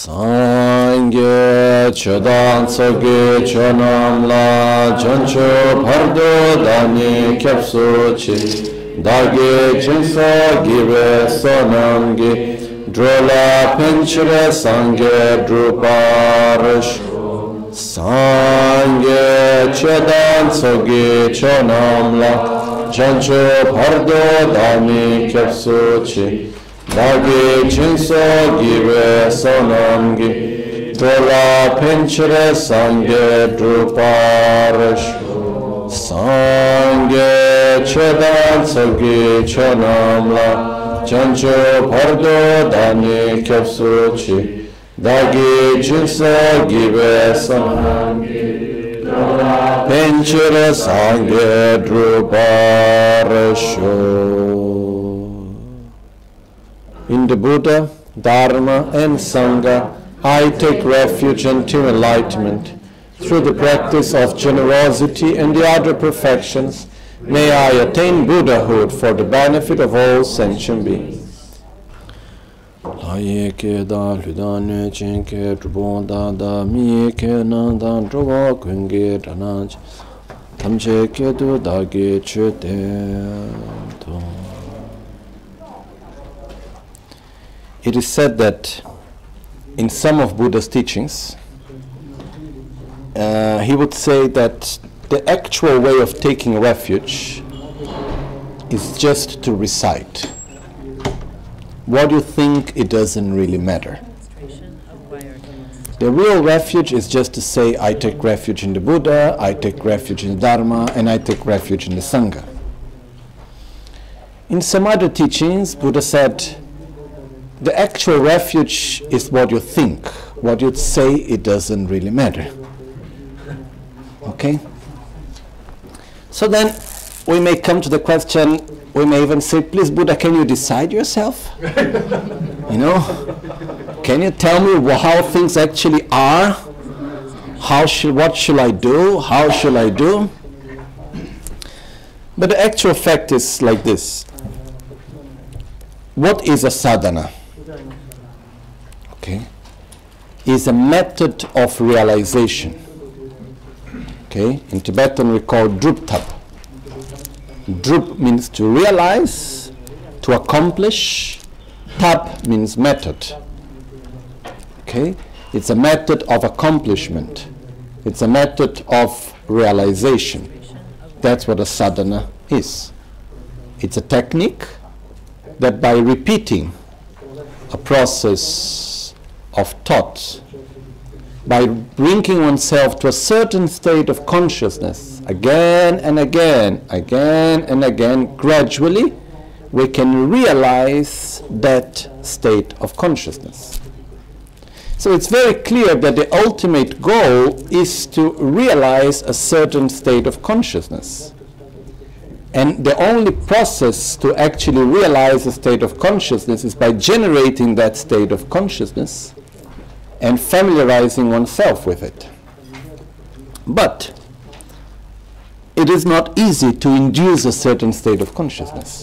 Sangye chodan tsoge chonam la jancho pardo dani kyapso chi dage jinso gibe sonam gi drola penchire sangye druparish Sangye chodan tsoge chonam la jancho pardo dani kyapso chi Dagi jinso gibe sonamgi Dola pinchire sangye druparish Sangye chedan sogi chonamla Jancho pardo dani kyapsuchi Dagi jinso gibe sonamgi Dola pinchire sangye druparish In the Buddha, Dharma and Sangha, I take refuge until enlightenment. Through the practice of generosity and the other perfections, may I attain Buddhahood for the benefit of all sentient beings. It is said that in some of Buddha's teachings, he would say that the actual way of taking refuge is just to recite. What you think, it doesn't really matter. The real refuge is just to say, I take refuge in the Buddha, I take refuge in the Dharma, and I take refuge in the Sangha. In some other teachings, Buddha said, the actual refuge is what you think. What you say, it doesn't really matter. Okay? So then we may come to the question, we may even say, please Buddha, can you decide yourself? You know? Can you tell me how things actually are? What should I do? How should I do? But the actual fact is like this. What is a sadhana? Okay, is a method of realization. Okay, in Tibetan we call druptab. Drup means to realize, to accomplish. Tab means method. Okay, it's a method of accomplishment. It's a method of realization. That's what a sadhana is. It's a technique that by repeating a process of thought, by bringing oneself to a certain state of consciousness again and again, gradually, we can realize that state of consciousness. So it's very clear that the ultimate goal is to realize a certain state of consciousness. And the only process to actually realize a state of consciousness is by generating that state of consciousness and familiarizing oneself with it. But it is not easy to induce a certain state of consciousness.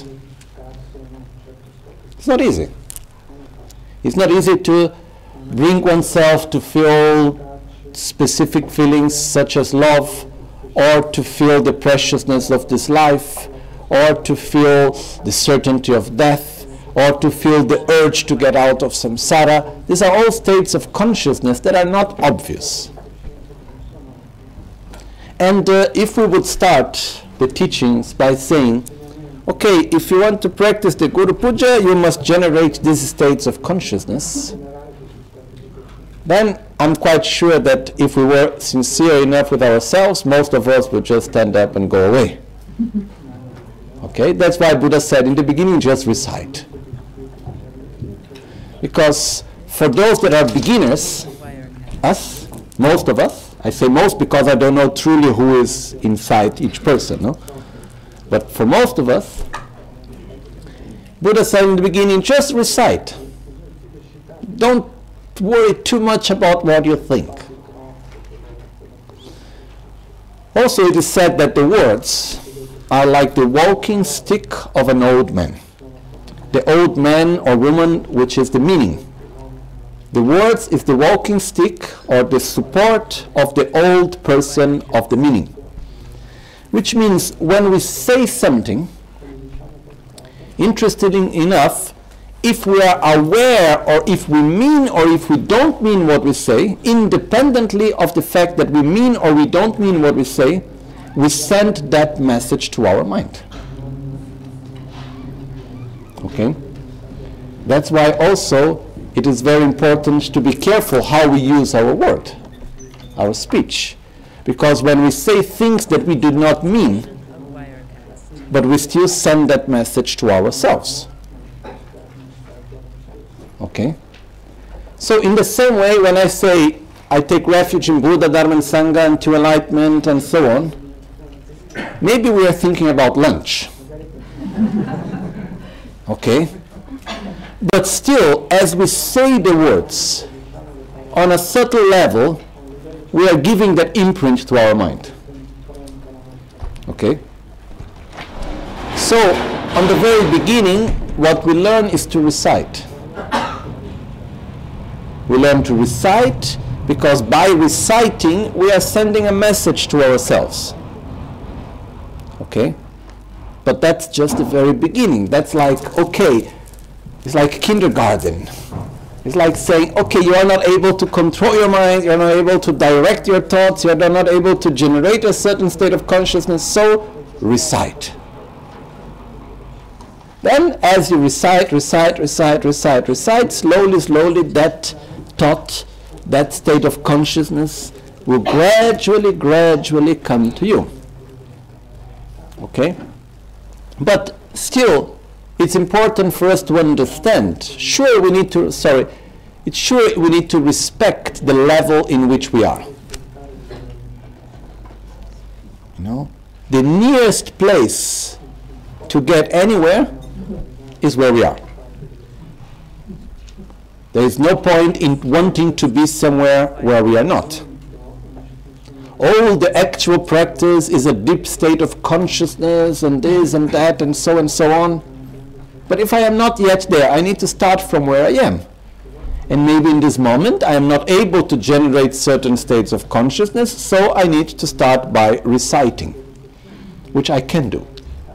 It's not easy. It's not easy to bring oneself to feel specific feelings such as love, or to feel the preciousness of this life, or to feel the certainty of death, or to feel the urge to get out of samsara. These are all states of consciousness that are not obvious. And if we would start the teachings by saying, okay, if you want to practice the Guru Puja, you must generate these states of consciousness, then I'm quite sure that if we were sincere enough with ourselves, most of us would just stand up and go away. Okay, that's why Buddha said in the beginning, just recite. Because for those that are beginners, us, most of us, I say most because I don't know truly who is inside each person, no? But for most of us, Buddha said in the beginning, just recite. Don't worry too much about what you think. Also, it is said that the words are like the walking stick of an old man. The old man or woman, which is the meaning. The words is the walking stick or the support of the old person of the meaning. Which means when we say something, interestingly enough, if we are aware or if we mean or if we don't mean what we say, independently of the fact that we mean or we don't mean what we say, we send that message to our mind. Okay? That's why also it is very important to be careful how we use our word, our speech. Because when we say things that we do not mean, but we still send that message to ourselves. Okay? So in the same way, when I say, I take refuge in Buddha, Dharma and Sangha until enlightenment and so on, maybe we are thinking about lunch. Okay? But still, as we say the words, on a subtle level, we are giving that imprint to our mind. Okay? So, on the very beginning, what we learn is to recite. We learn to recite because by reciting, we are sending a message to ourselves. Okay? But that's just the very beginning. That's like, okay, it's like kindergarten. It's like saying, okay, you are not able to control your mind, you're not able to direct your thoughts, you're not able to generate a certain state of consciousness, so recite. Then, as you recite, slowly, that thought, that state of consciousness will gradually come to you. Okay? But still, it's important for us to understand. Sure, we need to respect the level in which we are. You know, the nearest place to get anywhere is where we are. There is no point in wanting to be somewhere where we are not. All the actual practice is a deep state of consciousness and this and that and so on. But if I am not yet there, I need to start from where I am. And maybe in this moment I am not able to generate certain states of consciousness, so I need to start by reciting, which I can do.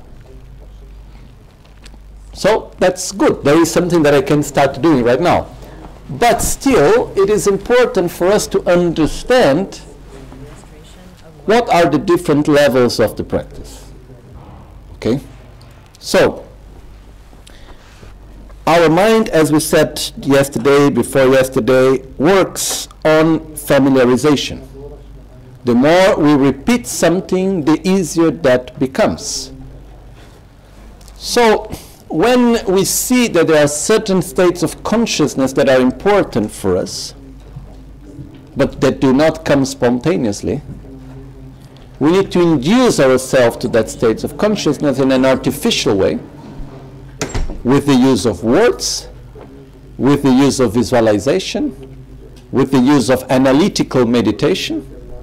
So that's good. There is something that I can start doing right now. But still, it is important for us to understand what are the different levels of the practice. Okay? So, our mind, as we said before yesterday, works on familiarization. The more we repeat something, the easier that becomes. So, when we see that there are certain states of consciousness that are important for us, but that do not come spontaneously, we need to induce ourselves to that state of consciousness in an artificial way, with the use of words, with the use of visualization, with the use of analytical meditation.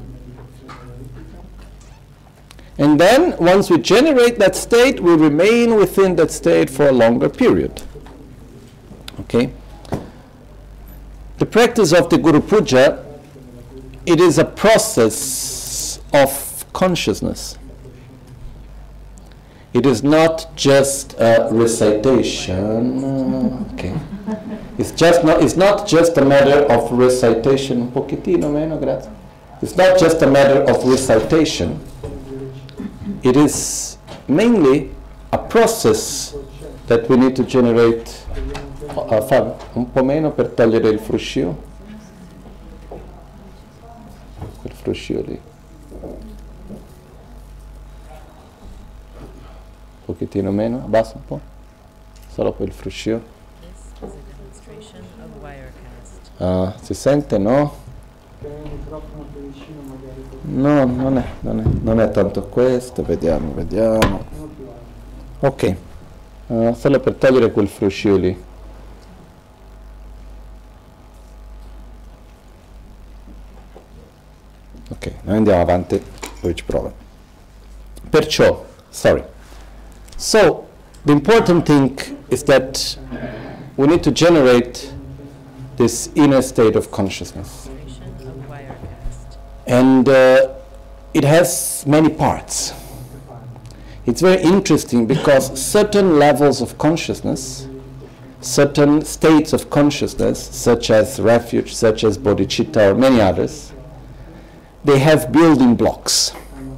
And then, once we generate that state, we remain within that state for a longer period. Okay? The practice of the Guru Puja, it is a process of consciousness. It is not just a recitation. Okay. It's not just a matter of recitation. Un pochettino meno, grazie. It's not just a matter of recitation. It is mainly a process that we need to generate. Fabio, un po' meno per togliere il fruscio. Quel fruscio lì. Un pochettino meno, abbassa un po'. Solo quel fruscio. Ah, si sente, no? No, non è tanto questo, vediamo. Ok, solo per togliere quel fruscio lì. Ok, noi andiamo avanti, poi ci provo. Perciò, So, the important thing is that we need to generate this inner state of consciousness. And it has many parts. It's very interesting because certain levels of consciousness, certain states of consciousness, such as refuge, such as bodhicitta, or many others, they have building blocks.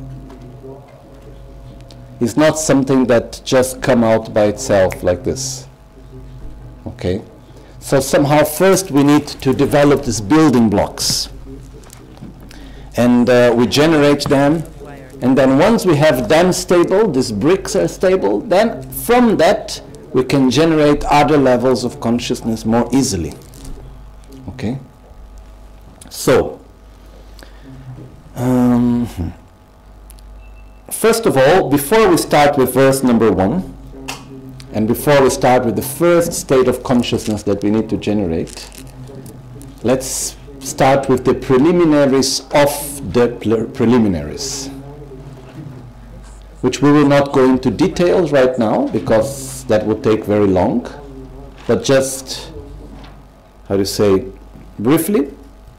It's not something that just come out by itself like this. Okay? So somehow first we need to develop these building blocks. And we generate them. And then once we have them stable, these bricks are stable, then from that we can generate other levels of consciousness more easily. Okay? So, first of all, before we start with verse number 1, and before we start with the first state of consciousness that we need to generate, let's start with the preliminaries of the preliminaries, which we will not go into details right now because that would take very long, but just, how to say, briefly.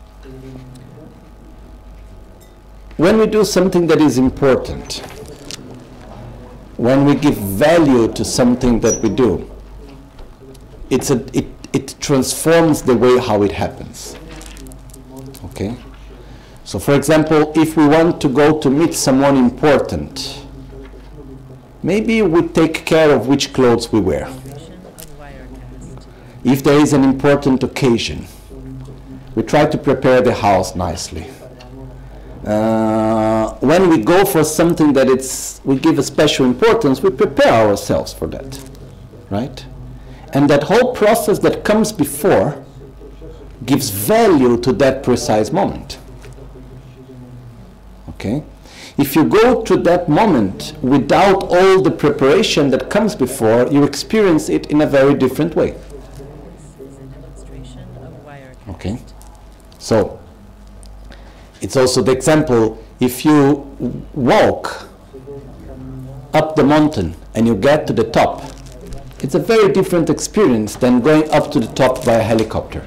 When we do something that is important, when we give value to something that we do, it transforms the way how it happens. Okay? So for example, if we want to go to meet someone important, maybe we take care of which clothes we wear. If there is an important occasion, we try to prepare the house nicely. When we go for something that we give a special importance, we prepare ourselves for that, right? And that whole process that comes before gives value to that precise moment. Okay? If you go to that moment without all the preparation that comes before, you experience it in a very different way. Okay? So, it's also the example, if you walk up the mountain and you get to the top, it's a very different experience than going up to the top by a helicopter.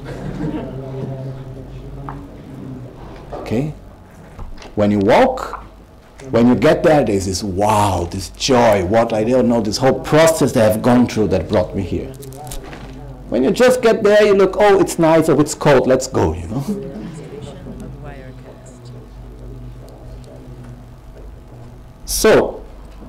Okay? When you walk, when you get there, there's this wow, this joy, what I don't know, this whole process that I've gone through that brought me here. When you just get there, you look, oh, it's nice, oh, it's cold, let's go, you know. So,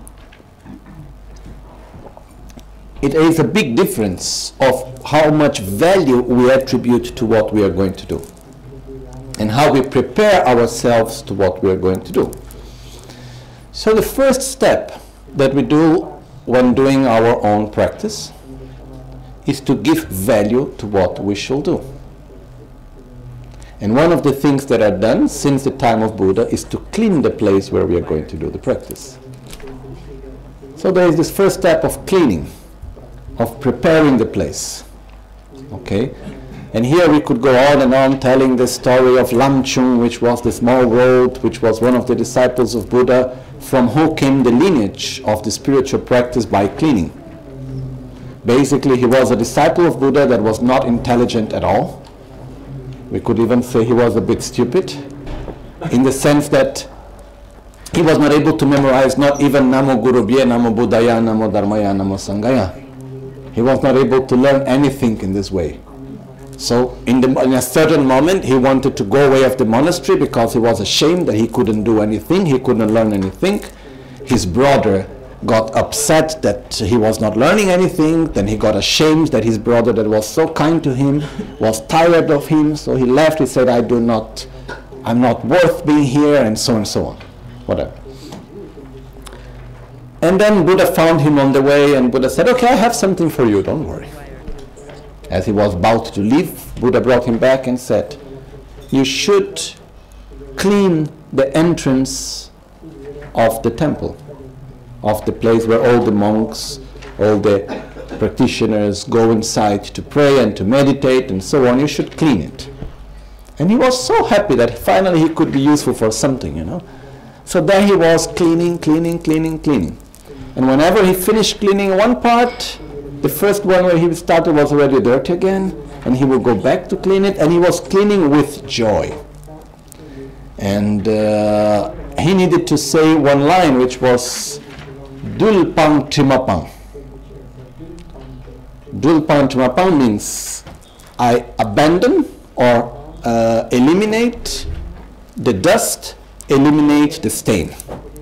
it is a big difference of how much value we attribute to what we are going to do and how we prepare ourselves to what we are going to do. So the first step that we do when doing our own practice is to give value to what we shall do. And one of the things that are done since the time of Buddha is to clean the place where we are going to do the practice. So there is this first step of cleaning, of preparing the place. Okay? And here we could go on and on telling the story of Lam Chung, which was the small road, which was one of the disciples of Buddha, from who came the lineage of the spiritual practice by cleaning. Basically, he was a disciple of Buddha that was not intelligent at all. We could even say he was a bit stupid, in the sense that he was not able to memorize not even Namo Guru Bhye, Namo Buddhaya, Namo Dharmaya, Namo Sanghaya. He was not able to learn anything in this way. So in a certain moment he wanted to go away of the monastery because he was ashamed that he couldn't do anything, he couldn't learn anything. His brother got upset that he was not learning anything, then he got ashamed that his brother that was so kind to him was tired of him, so he left. He said, I'm not worth being here, and so on, whatever. And then Buddha found him on the way, and Buddha said, okay, I have something for you, don't worry. As he was about to leave, Buddha brought him back and said, you should clean the entrance of the temple, of the place where all the monks, all the practitioners go inside to pray and to meditate and so on. You should clean it. And he was so happy that finally he could be useful for something, you know. So there he was cleaning. And whenever he finished cleaning one part, the first one where he started was already dirty again. and he would go back to clean it, and he was cleaning with joy. And he needed to say one line, which was Dulpang Trimapang. Dulpang Trimapang means I abandon or eliminate the dust, eliminate the stain.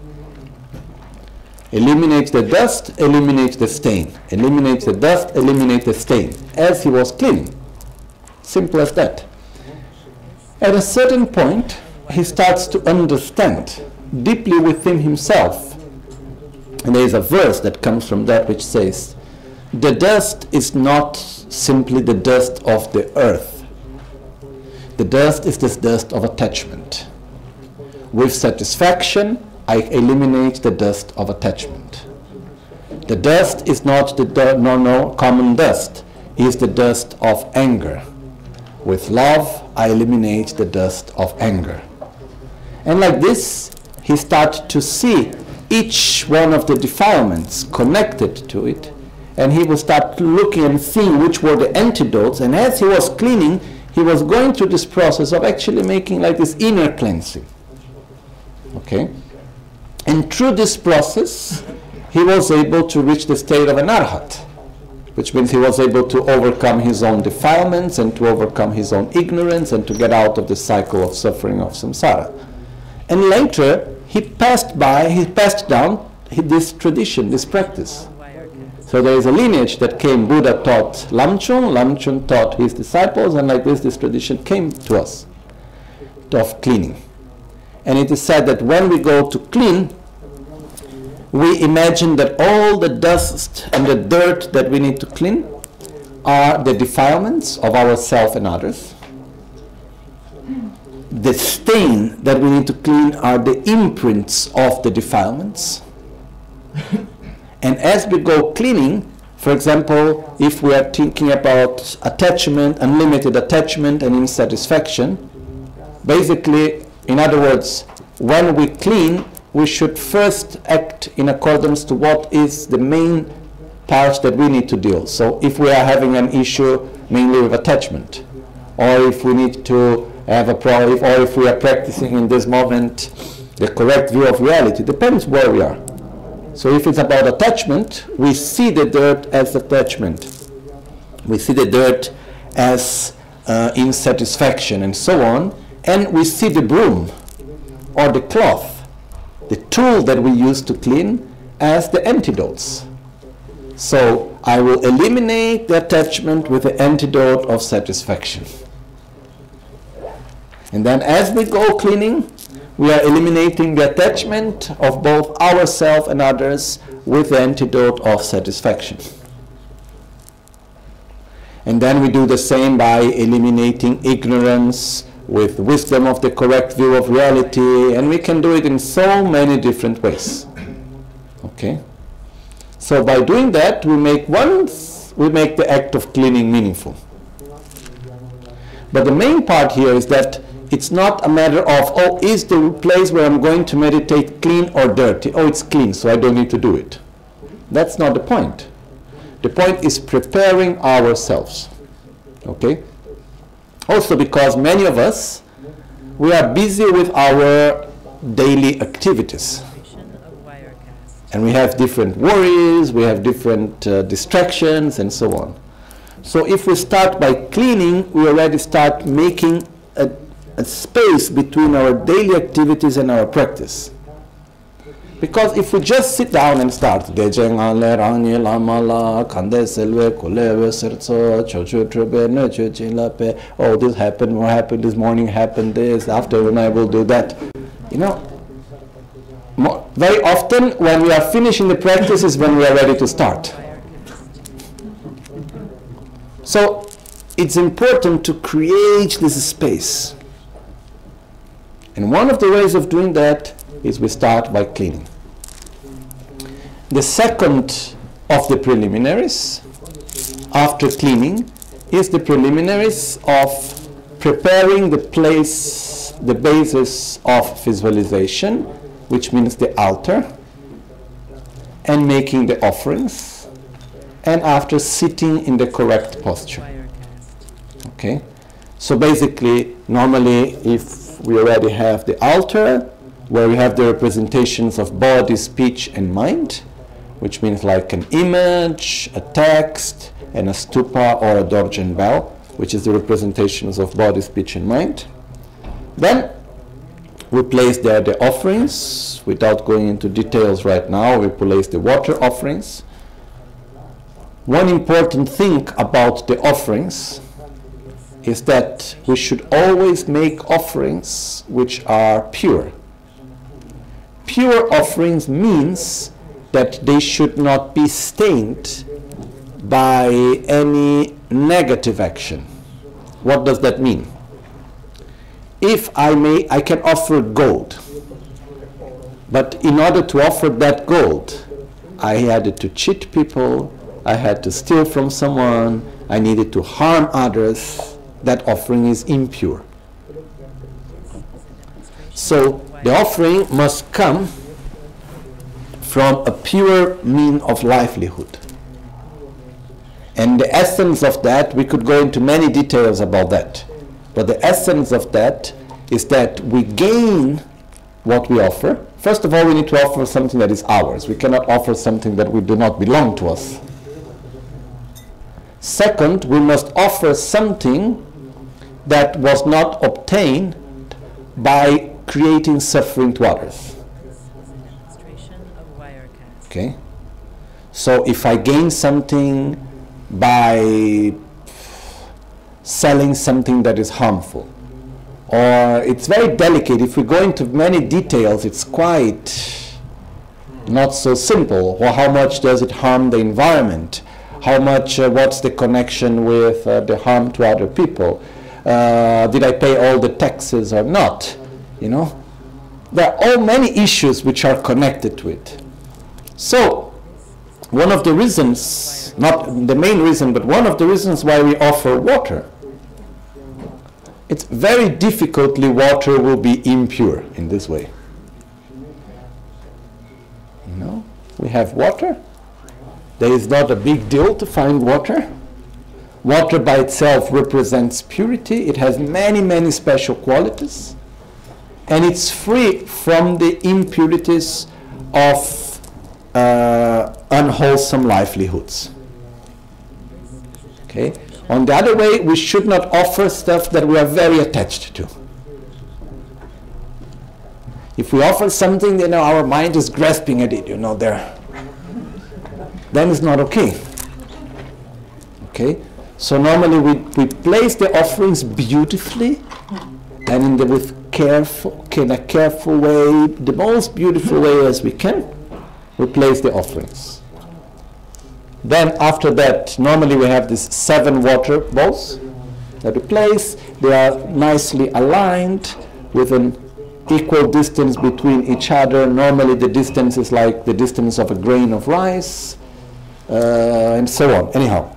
Eliminate the dust, eliminate the stain. Eliminate the dust, eliminate the stain. As he was cleaning. Simple as that. At a certain point, he starts to understand deeply within himself. And there is a verse that comes from that which says, the dust is not simply the dust of the earth. The dust is this dust of attachment. With satisfaction, I eliminate the dust of attachment. The dust is not the common dust. It is the dust of anger. With love, I eliminate the dust of anger. And like this, he started to see each one of the defilements connected to it, and he would start looking and seeing which were the antidotes. And as he was cleaning, he was going through this process of actually making like this inner cleansing. Okay? And through this process, he was able to reach the state of an arhat, which means he was able to overcome his own defilements and to overcome his own ignorance and to get out of the cycle of suffering of samsara. And later, he passed down this tradition, this practice. So there is a lineage that came. Buddha taught Lamchung, Lamchung taught his disciples, and like this tradition came to us of cleaning. And it is said that when we go to clean, we imagine that all the dust and the dirt that we need to clean are the defilements of ourselves and others. The stain that we need to clean are the imprints of the defilements. And as we go cleaning, for example, if we are thinking about attachment, unlimited attachment and insatisfaction, basically, in other words, when we clean, we should first act in accordance to what is the main parts that we need to deal. So if we are having an issue mainly with attachment, or if we need to have a problem, or if we are practicing in this moment the correct view of reality, depends where we are. So if it's about attachment, we see the dirt as attachment. We see the dirt as insatisfaction and so on, and we see the broom or the cloth, the tool that we use to clean, as the antidotes. So I will eliminate the attachment with the antidote of satisfaction. And then as we go cleaning, we are eliminating the attachment of both ourselves and others with the antidote of satisfaction. And then we do the same by eliminating ignorance with wisdom of the correct view of reality, and we can do it in so many different ways. Okay? So by doing that, we make the act of cleaning meaningful. But the main part here is that it's not a matter of, oh, is the place where I'm going to meditate clean or dirty? Oh, it's clean, so I don't need to do it. That's not the point. The point is preparing ourselves. Okay? Also because many of us, we are busy with our daily activities. And we have different worries, we have different distractions, and so on. So if we start by cleaning, we already start making a space between our daily activities and our practice. Because if we just sit down and start, oh, this happened, what happened this morning, happened this, afternoon I will do that. You know, very often when we are finishing the practice is when we are ready to start. So it's important to create this space. And one of the ways of doing that is we start by cleaning. The second of the preliminaries after cleaning is the preliminaries of preparing the place, the basis of visualization, which means the altar, and making the offerings, and after sitting in the correct posture. Okay? So basically, normally, if we already have the altar, where we have the representations of body, speech, and mind, which means like an image, a text, and a stupa or a dorje bell, which is the representations of body, speech, and mind. Then we place there the offerings. Without going into details right now, we place the water offerings. One important thing about the offerings is that we should always make offerings which are pure. Pure offerings means that they should not be stained by any negative action. What does that mean? If I can offer gold, but in order to offer that gold, I had to cheat people, I had to steal from someone, I needed to harm others. That offering is impure. So the offering must come from a pure mean of livelihood. And the essence of that, we could go into many details about that. But the essence of that is that we gain what we offer. First of all, we need to offer something that is ours. We cannot offer something that do not belong to us. Second, we must offer something that was not obtained by creating suffering to others. Okay? So if I gain something by selling something that is harmful, or it's very delicate, if we go into many details, it's quite not so simple. Well, how much does it harm the environment? How much, what's the connection with the harm to other people? Did I pay all the taxes or not? You know, there are all many issues which are connected to it. So, one of the reasons, not the main reason, but one of the reasons why we offer water, it's very difficultly water will be impure in this way. You know, we have water. There is not a big deal to find water. Water by itself represents purity. It has many, many special qualities. And it's free from the impurities of unwholesome livelihoods. Okay? On the other way, we should not offer stuff that we are very attached to. If we offer something, you know, our mind is grasping at it, you know, then it's not okay. Okay? So normally we place the offerings beautifully and in a careful way, the most beautiful way as we can, we place the offerings. Then after that, normally we have these 7 water bowls that we place. They are nicely aligned with an equal distance between each other. Normally the distance is like the distance of a grain of rice, and so on. Anyhow.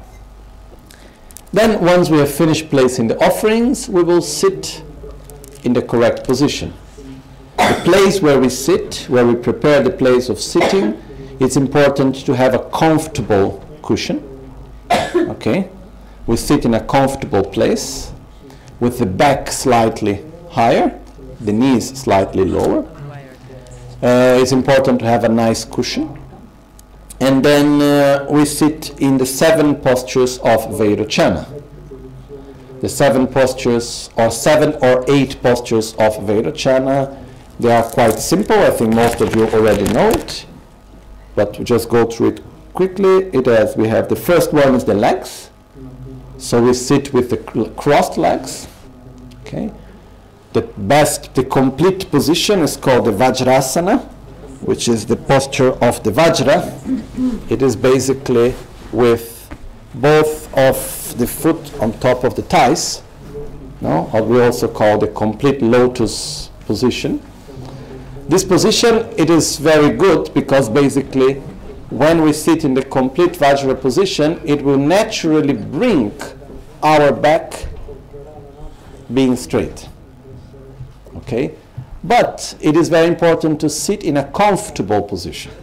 Then once we have finished placing the offerings, we will sit in the correct position. The place where we sit, where we prepare the place of sitting, it's important to have a comfortable cushion. Okay? We sit in a comfortable place with the back slightly higher, the knees slightly lower. It's important to have a nice cushion. And then we sit in the 7 postures of Vairochana. The 7 postures, or 7 or 8 postures of Vairochana, they are quite simple. I think most of you already know it. But to just go through it quickly, we have the first one is the legs. So we sit with the crossed legs. Okay. The complete position is called the Vajrasana, which is the posture of the Vajra. It is basically with both of the foot on top of the thighs, no? What we also call the complete lotus position. This position, it is very good because basically when we sit in the complete Vajra position, it will naturally bring our back being straight. Okay? But it is very important to sit in a comfortable position.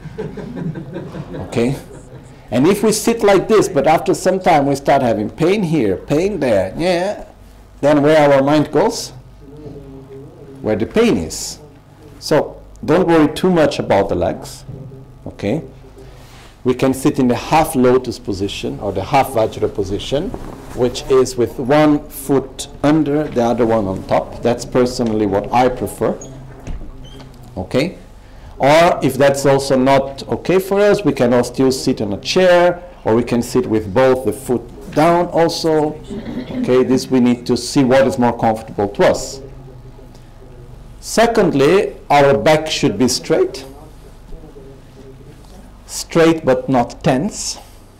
Okay? And if we sit like this, but after some time we start having pain here, pain there, yeah, then where our mind goes? Where the pain is. So don't worry too much about the legs. Okay? We can sit in the half lotus position or the half Vajra position, which is with one foot under, the other one on top. That's personally what I prefer. Okay? Or if that's also not okay for us, we can all still sit on a chair, or we can sit with both the foot down also. Okay, this we need to see what is more comfortable to us. Secondly, our back should be straight. Straight but not tense.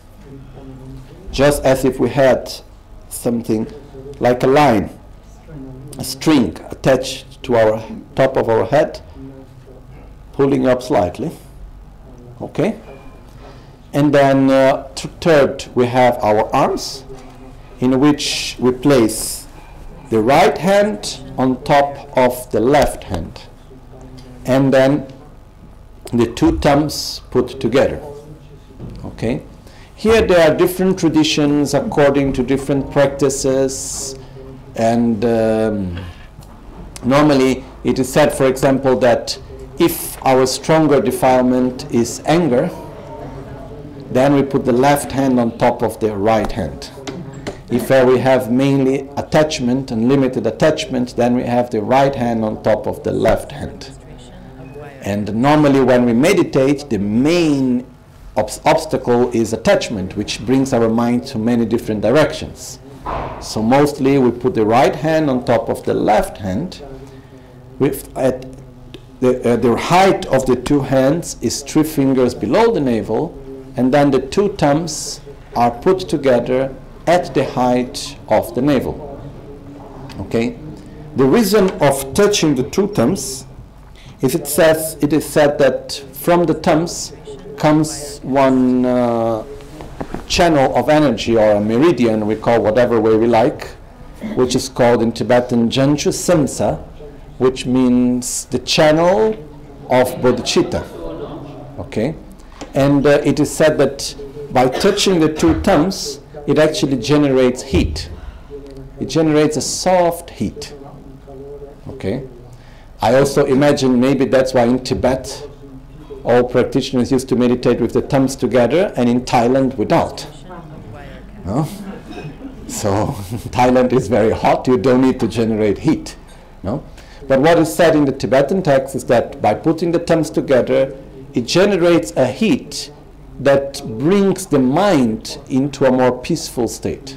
Just as if we had something like a line, a string attached to our top of our head, pulling up slightly. Okay? And then third, we have our arms, in which we place the right hand on top of the left hand, and then the two thumbs put together. Okay? Here there are different traditions according to different practices, and normally it is said, for example, that if our stronger defilement is anger, then we put the left hand on top of the right hand. If we have mainly attachment and limited attachment, then we have the right hand on top of the left hand. And normally when we meditate, the main obstacle is attachment, which brings our mind to many different directions. So mostly we put the right hand on top of the left hand. At the height of the two hands is 3 fingers below the navel, and then the two thumbs are put together at the height of the navel. Okay? The reason of touching the two thumbs is it is said that from the thumbs comes one channel of energy, or a meridian, we call whatever way we like, which is called in Tibetan Janchu Simsa, which means the channel of bodhicitta. Okay? And it is said that by touching the two thumbs, it actually generates heat. It generates a soft heat. Okay? I also imagine maybe that's why in Tibet all practitioners used to meditate with the thumbs together, and in Thailand without. No? So Thailand is very hot, you don't need to generate heat. No? But what is said in the Tibetan text is that by putting the thumbs together, it generates a heat that brings the mind into a more peaceful state.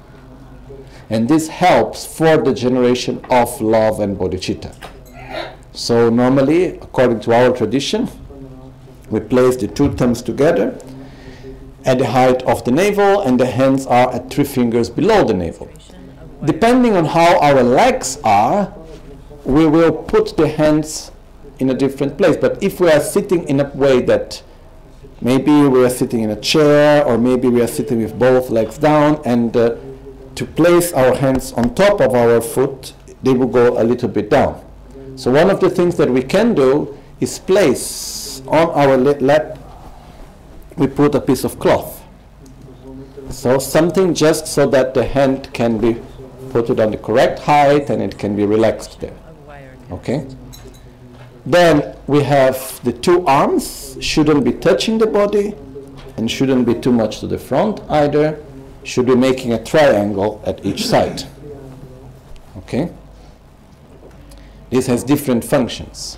And this helps for the generation of love and bodhicitta. So normally, according to our tradition, we place the two thumbs together at the height of the navel, and the hands are at 3 fingers below the navel. Depending on how our legs are, we will put the hands in a different place. But if we are sitting in a way that maybe we are sitting in a chair, or maybe we are sitting with both legs down, and to place our hands on top of our foot, they will go a little bit down. So one of the things that we can do is place on our lap, we put a piece of cloth. So something just so that the hand can be put it on the correct height and it can be relaxed there. Okay? Then we have the two arms, shouldn't be touching the body and shouldn't be too much to the front either, should be making a triangle at each side. Okay? This has different functions.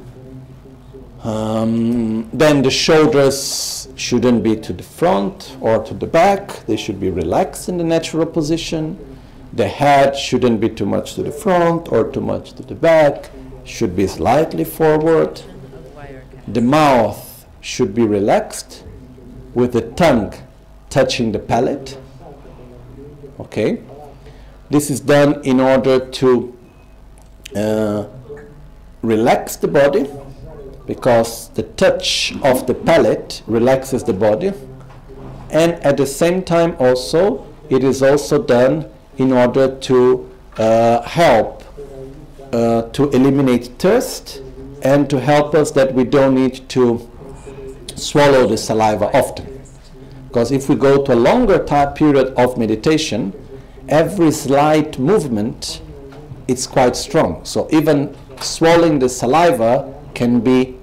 Then the shoulders shouldn't be to the front or to the back, they should be relaxed in the natural position. The head shouldn't be too much to the front or too much to the back, should be slightly forward. The mouth should be relaxed with the tongue touching the palate. Okay? This is done in order to relax the body, because the touch of the palate relaxes the body, and at the same time also it is also done in order to help to eliminate thirst and to help us that we don't need to swallow the saliva often. Because if we go to a longer time period of meditation every slight movement, it's quite strong. So even swallowing the saliva can be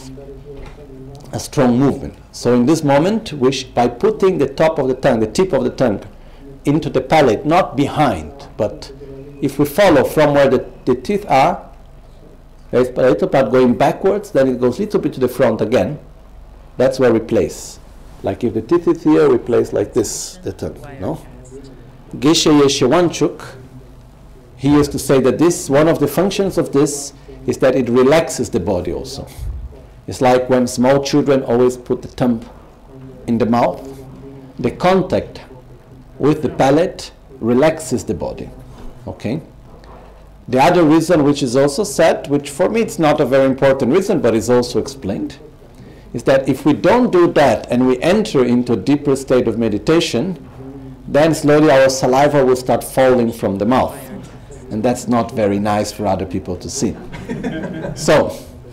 a strong movement. So in this moment, by putting the top of the tongue, the tip of the tongue, into the palate, not behind, but if we follow from where the teeth are, there's a little part going backwards, then it goes a little bit to the front again. That's where we place. Like if the teeth is here, we place like this, the tongue, no? Geshe Yeshe Wanchuk, he used to say that this, one of the functions of this is that it relaxes the body also. It's like when small children always put the thumb in the mouth. The contact with the palate relaxes the body. Okay? The other reason, which is also said, which for me it's not a very important reason, but is also explained, is that if we don't do that and we enter into a deeper state of meditation, then slowly our saliva will start falling from the mouth. And that's not very nice for other people to see. So,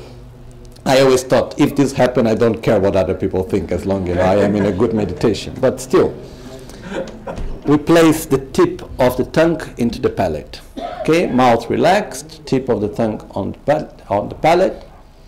I always thought, if this happened, I don't care what other people think, as long as I am in a good meditation. But still, we place the tip of the tongue into the palate. Okay, mouth relaxed, tip of the tongue on the palate.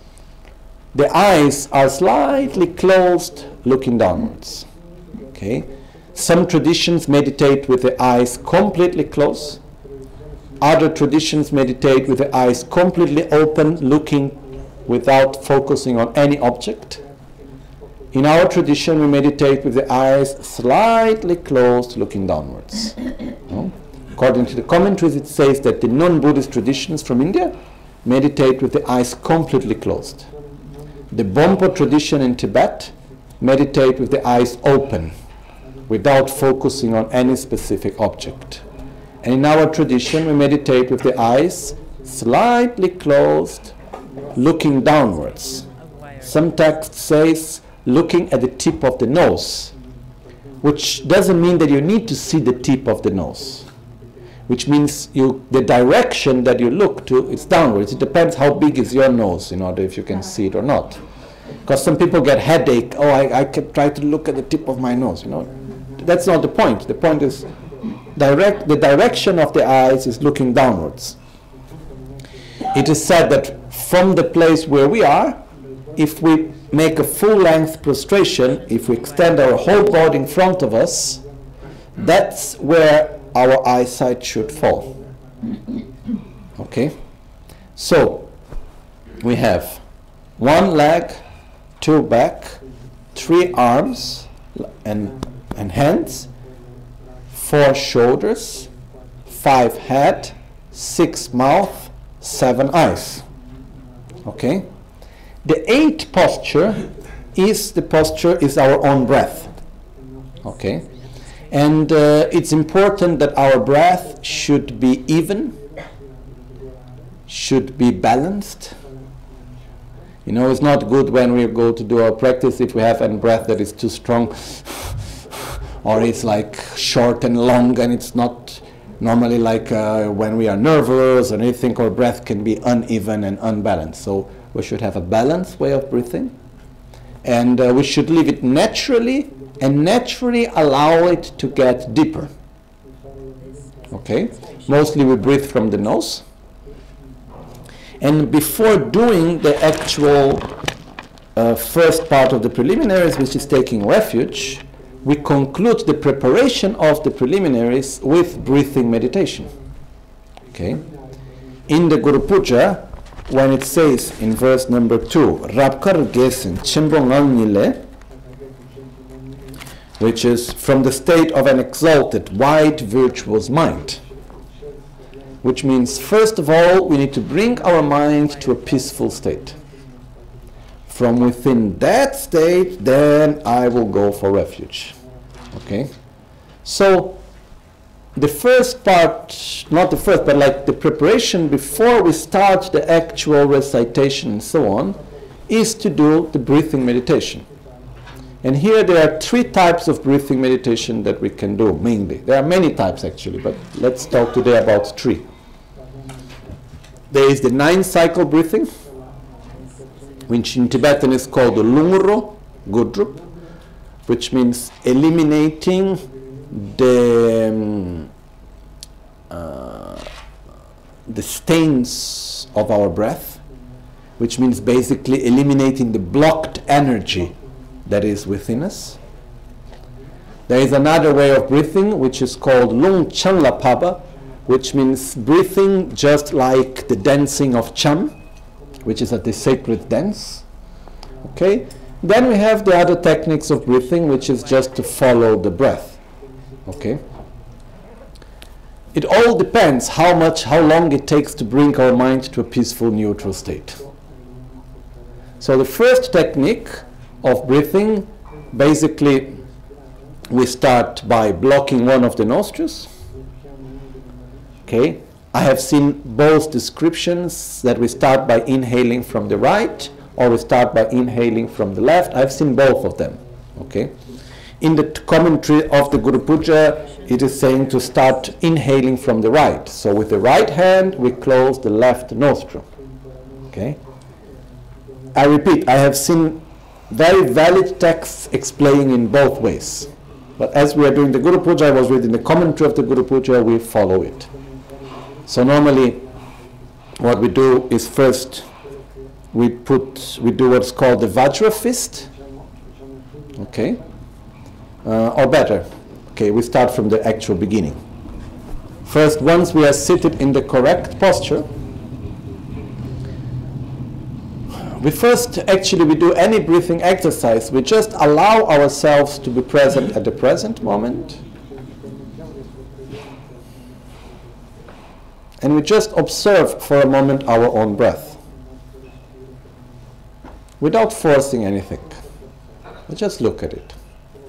The eyes are slightly closed, looking downwards. Okay, some traditions meditate with the eyes completely closed. Other traditions meditate with the eyes completely open, looking without focusing on any object. In our tradition, we meditate with the eyes slightly closed, looking downwards. No? According to the commentaries, it says that the non-Buddhist traditions from India meditate with the eyes completely closed. The Bompo tradition in Tibet meditate with the eyes open, without focusing on any specific object. And in our tradition, we meditate with the eyes slightly closed, looking downwards. Some text says looking at the tip of the nose, which doesn't mean that you need to see the tip of the nose, which means the direction that you look to is downwards. It depends how big is your nose in order if you can see it or not. Because some people get headache, I can try to look at the tip of my nose, That's not the point. The point is the direction of the eyes is looking downwards. It is said that from the place where we are, if we make a full-length prostration, if we extend our whole body in front of us, that's where our eyesight should fall. Okay? So, we have 1 leg, 2 back, 3 arms and hands, 4 shoulders, 5 head, 6 mouth, 7 eyes. Okay? The 8th posture is our own breath. Okay? And it's important that our breath should be even, should be balanced. It's not good when we go to do our practice if we have a breath that is too strong or it's like short and long, and it's not normally like when we are nervous or anything, our breath can be uneven and unbalanced. So we should have a balanced way of breathing, and we should leave it naturally and naturally allow it to get deeper. Okay? Mostly we breathe from the nose. And before doing the actual first part of the preliminaries, which is taking refuge, we conclude the preparation of the preliminaries with breathing meditation. Okay? In the Guru Puja, when it says in verse number 2, Rabkar Gesen Chimbonganile, which is from the state of an exalted, wide, virtuous mind, which means, first of all, we need to bring our mind to a peaceful state. From within that state, then I will go for refuge. Okay? So, the first part, not the first, but like the preparation before we start the actual recitation and so on, is to do the breathing meditation. And here there are 3 types of breathing meditation that we can do, mainly. There are many types actually, but let's talk today about 3. There is the 9-cycle breathing, which in Tibetan is called the Lungro Gudrup, which means eliminating the the stains of our breath, which means basically eliminating the blocked energy that is within us. There is another way of breathing which is called Lung Chanla Paba, which means breathing just like the dancing of Cham, which is the sacred dance. Okay? Then we have the other techniques of breathing, which is just to follow the breath. Okay? It all depends how long it takes to bring our mind to a peaceful, neutral state. So the first technique of breathing, basically we start by blocking one of the nostrils. Okay? I have seen both descriptions, that we start by inhaling from the right or we start by inhaling from the left. I've seen both of them. Okay? In the commentary of the Guru Puja, it is saying to start inhaling from the right. So with the right hand, we close the left nostril. Okay? I repeat, I have seen very valid texts explaining in both ways. But as we are doing the Guru Puja, I was reading the commentary of the Guru Puja, we follow it. So normally, what we do is first, we do what's called the Vajra fist. Okay? Or better, okay, we start from the actual beginning. First, once we are seated in the correct posture, we do any breathing exercise. We just allow ourselves to be present at the present moment. And we just observe for a moment our own breath. Without forcing anything. We just look at it.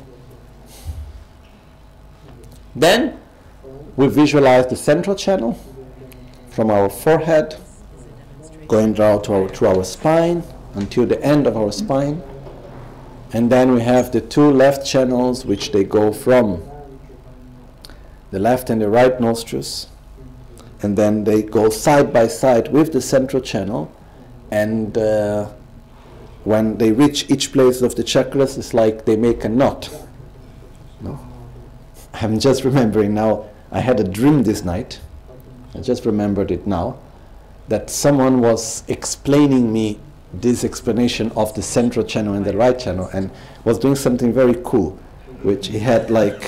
Then we visualize the central channel from our forehead, going down to our spine until the end of our spine. And then we have the two left channels, which they go from the left and the right nostrils. And then they go side by side with the central channel. And when they reach each place of the chakras, it's like they make a knot. No? I'm just remembering now, I had a dream this night, I just remembered it now, that someone was explaining me this explanation of the central channel and the right channel, and was doing something very cool, which he had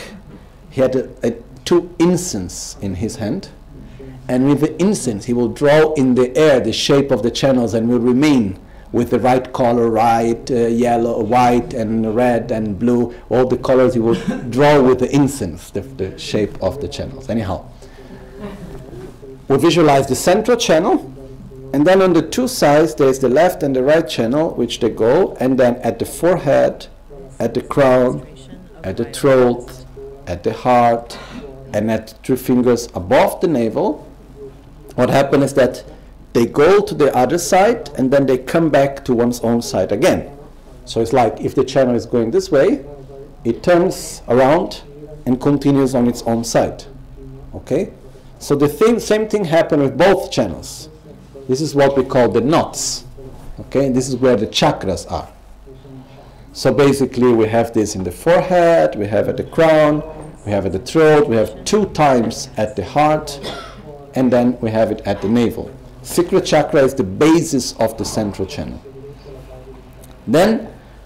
two incense in his hand, and with the incense he will draw in the air the shape of the channels and will remain with the right color, yellow, white, and red, and blue, all the colors he will draw with the incense, the shape of the channels. Anyhow, we visualize the central channel, and then on the two sides there is the left and the right channel, which they go, and then at the forehead, at the crown, at the throat, at the heart, and at 3 fingers above the navel. What happens is that they go to the other side and then they come back to one's own side again. So it's like if the channel is going this way, it turns around and continues on its own side. Okay? So the same thing happens with both channels. This is what we call the knots. Okay? This is where the chakras are. So basically we have this in the forehead, we have at the crown, we have at the throat, we have 2 times at the heart, and then we have it at the navel. Secret chakra is the basis of the central channel. Then,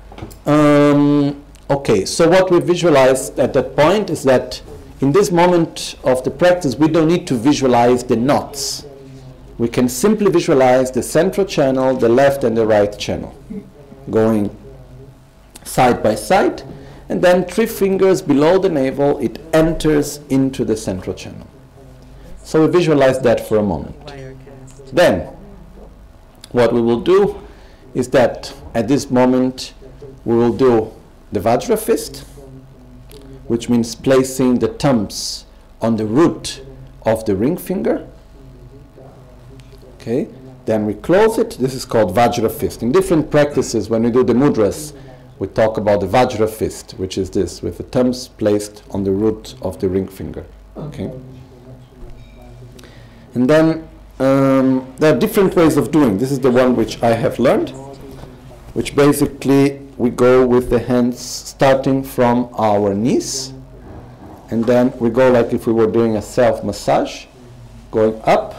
so what we visualize at that point is that in this moment of the practice, we don't need to visualize the knots. We can simply visualize the central channel, the left and the right channel, going side by side, and then 3 fingers below the navel, it enters into the central channel. So we visualize that for a moment. Then, what we will do is that at this moment we will do the Vajra fist, which means placing the thumbs on the root of the ring finger. Okay, then we close it. This is called Vajra fist. In different practices, when we do the mudras, we talk about the Vajra fist, which is this, with the thumbs placed on the root of the ring finger. Okay, and then there are different ways of doing. This is the one which I have learned, which basically we go with the hands starting from our knees, and then we go like if we were doing a self-massage, going up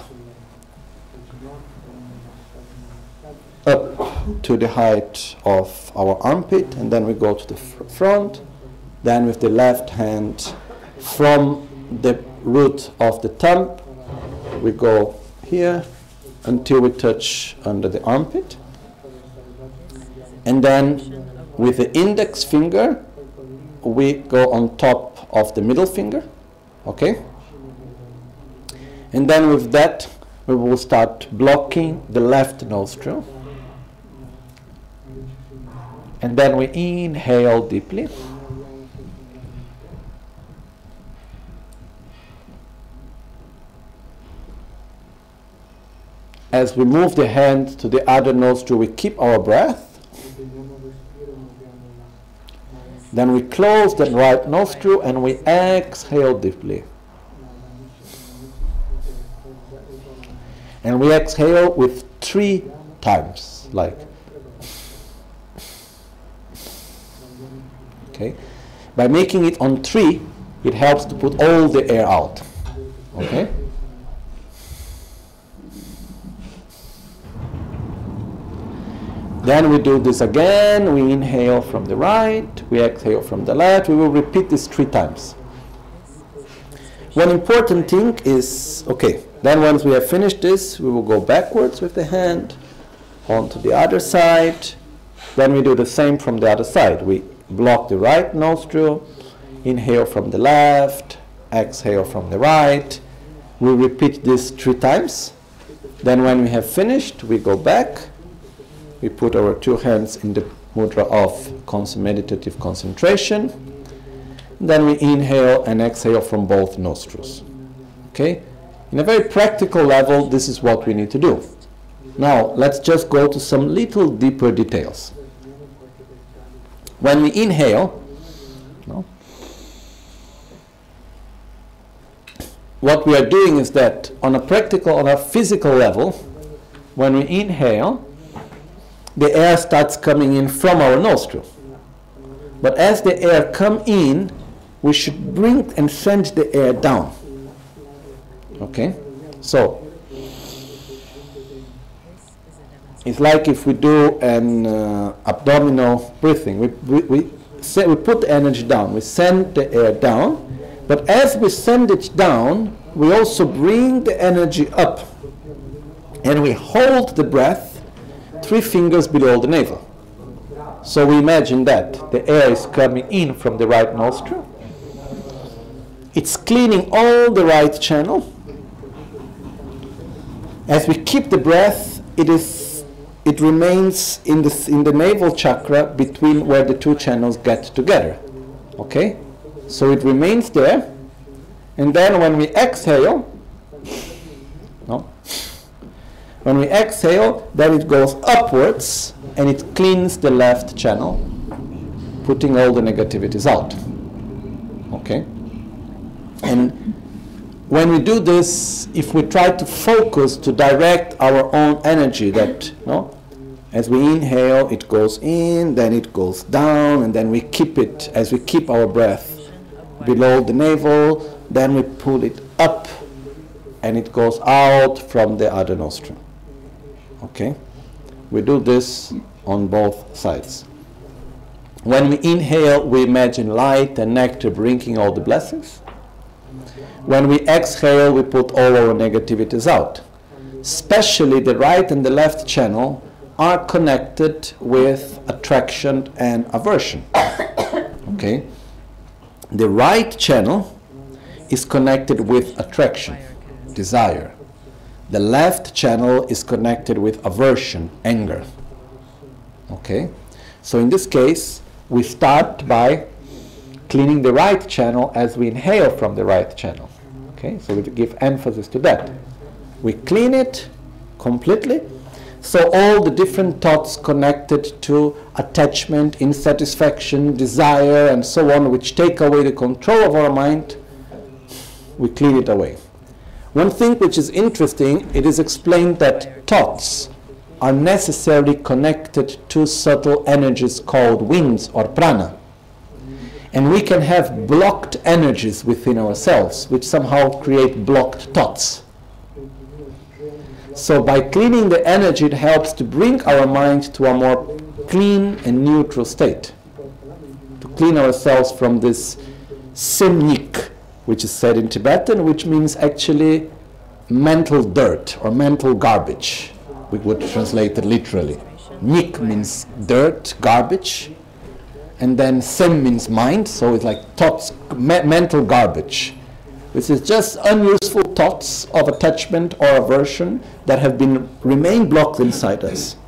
to the height of our armpit, and then we go to the front. Then with the left hand from the root of the thumb, we go here until we touch under the armpit. And then with the index finger, we go on top of the middle finger, okay? And then with that, we will start blocking the left nostril. And then we inhale deeply. As we move the hand to the other nostril, we keep our breath. Then we close the right nostril and we exhale deeply. And we exhale with 3 times, like. Okay? By making it on 3, it helps to put all the air out. Okay? Then we do this again. We inhale from the right, we exhale from the left. We will repeat this 3 times. One important thing is, okay, then once we have finished this, we will go backwards with the hand onto the other side. Then we do the same from the other side. We block the right nostril, inhale from the left, exhale from the right. We repeat this 3 times. Then when we have finished, we go back. We put our 2 hands in the mudra of meditative concentration. Then we inhale and exhale from both nostrils. Okay? In a very practical level, this is what we need to do. Now, let's just go to some little deeper details. When we inhale, what we are doing is that on a physical level, when we inhale, the air starts coming in from our nostril. But as the air comes in, we should bring and send the air down. Okay? So, it's like if we do an abdominal breathing. We put the energy down, we send the air down, but as we send it down, we also bring the energy up. And we hold the breath 3 fingers below the navel. So we imagine that the air is coming in from the right nostril. It's cleaning all the right channel. As we keep the breath, it remains in the navel chakra between where the 2 channels get together. Okay? So it remains there. And then when we exhale, when we exhale, then it goes upwards and it cleans the left channel, putting all the negativities out. Okay? And when we do this, if we try to focus to direct our own energy, that as we inhale, it goes in, then it goes down, and then we keep it, as we keep our breath below the navel, then we pull it up and it goes out from the other nostril. Okay? We do this on both sides. When we inhale, we imagine light and nectar bringing all the blessings. When we exhale, we put all our negativities out. Especially the right and the left channel are connected with attraction and aversion. Okay? The right channel is connected with attraction, desire. The left channel is connected with aversion, anger. Okay? So in this case, we start by cleaning the right channel as we inhale from the right channel. Okay? So we give emphasis to that. We clean it completely. So all the different thoughts connected to attachment, insatisfaction, desire, and so on, which take away the control of our mind, we clean it away. One thing which is interesting, it is explained that thoughts are necessarily connected to subtle energies called winds or prana. And we can have blocked energies within ourselves, which somehow create blocked thoughts. So by cleaning the energy, it helps to bring our mind to a more clean and neutral state. To clean ourselves from this semnik, which is said in Tibetan, which means actually mental dirt or mental garbage. We would translate it literally. Nik means dirt, garbage, and then sem means mind, so it's like thoughts, mental garbage, which is just unuseful thoughts of attachment or aversion that have remained blocked inside us.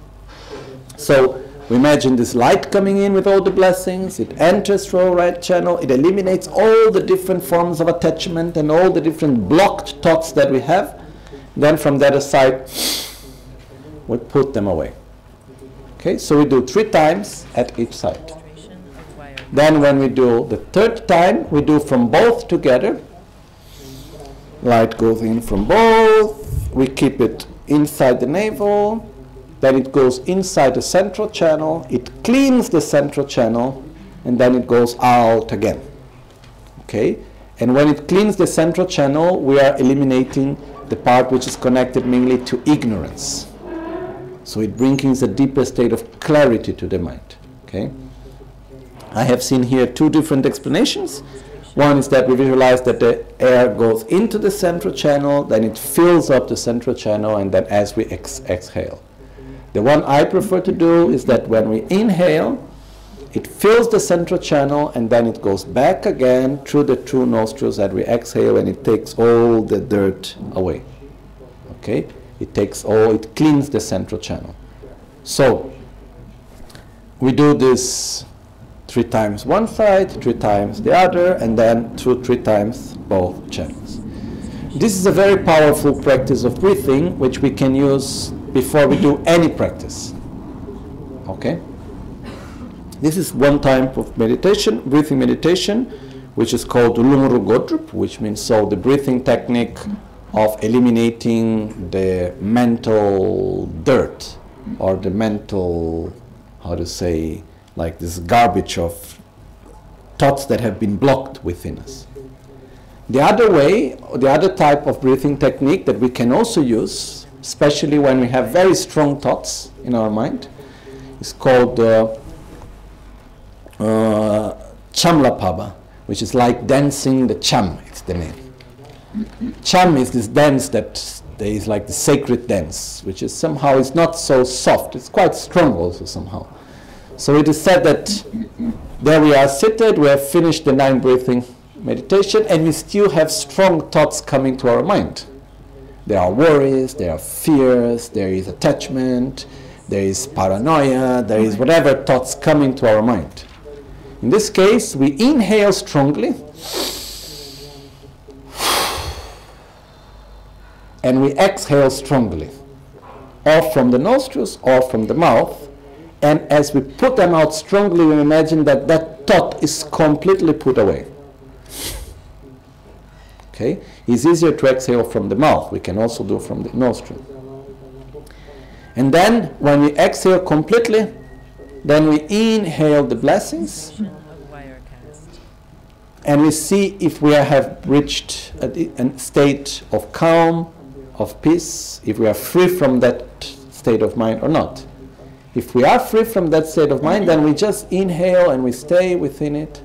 So we imagine this light coming in with all the blessings, it enters through our right channel, it eliminates all the different forms of attachment and all the different blocked thoughts that we have. Then from the other side, we put them away. Okay, so we do 3 times at each side. Then when we do the 3rd time, we do from both together. Light goes in from both, we keep it inside the navel, then it goes inside the central channel, it cleans the central channel, and then it goes out again. Okay? And when it cleans the central channel, we are eliminating the part which is connected mainly to ignorance. So it brings a deeper state of clarity to the mind. Okay? I have seen here 2 different explanations. One is that we visualize that the air goes into the central channel, then it fills up the central channel, and then as we exhale. The one I prefer to do is that when we inhale, it fills the central channel, and then it goes back again through the 2 nostrils that we exhale, and it takes all the dirt away. Okay? It cleans the central channel. So, we do this 3 times one side, 3 times the other, and then 3 times both channels. This is a very powerful practice of breathing, which we can use before we do any practice. Okay? This is one type of meditation, breathing meditation, which is called Ulumuru Godrup, which means the breathing technique of eliminating the mental dirt, or the mental, like this garbage of thoughts that have been blocked within us. The other type of breathing technique that we can also use, especially when we have very strong thoughts in our mind, is called Chamlapaba, which is like dancing the cham, it's the name. Cham is this dance that there is like the sacred dance, which is somehow, it's not so soft, it's quite strong also somehow. So it is said that there we are seated, we have finished the 9 breathing meditation, and we still have strong thoughts coming to our mind. There are worries, there are fears, there is attachment, there is paranoia, there is whatever thoughts coming to our mind. In this case, we inhale strongly, and we exhale strongly, or from the nostrils or from the mouth. And as we put them out strongly, we imagine that thought is completely put away. Okay? It's easier to exhale from the mouth. We can also do from the nostril. And then, when we exhale completely, then we inhale the blessings. And we see if we have reached a state of calm, of peace, if we are free from that state of mind or not. If we are free from that state of mind, then we just inhale and we stay within it.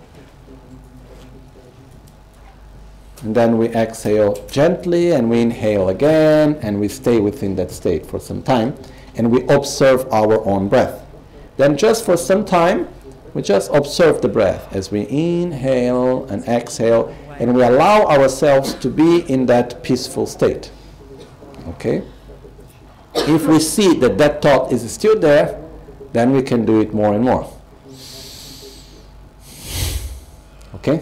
And then we exhale gently and we inhale again and we stay within that state for some time and we observe our own breath. Then just for some time, we just observe the breath as we inhale and exhale, and we allow ourselves to be in that peaceful state. Okay? If we see that thought is still there, then we can do it more and more. Okay?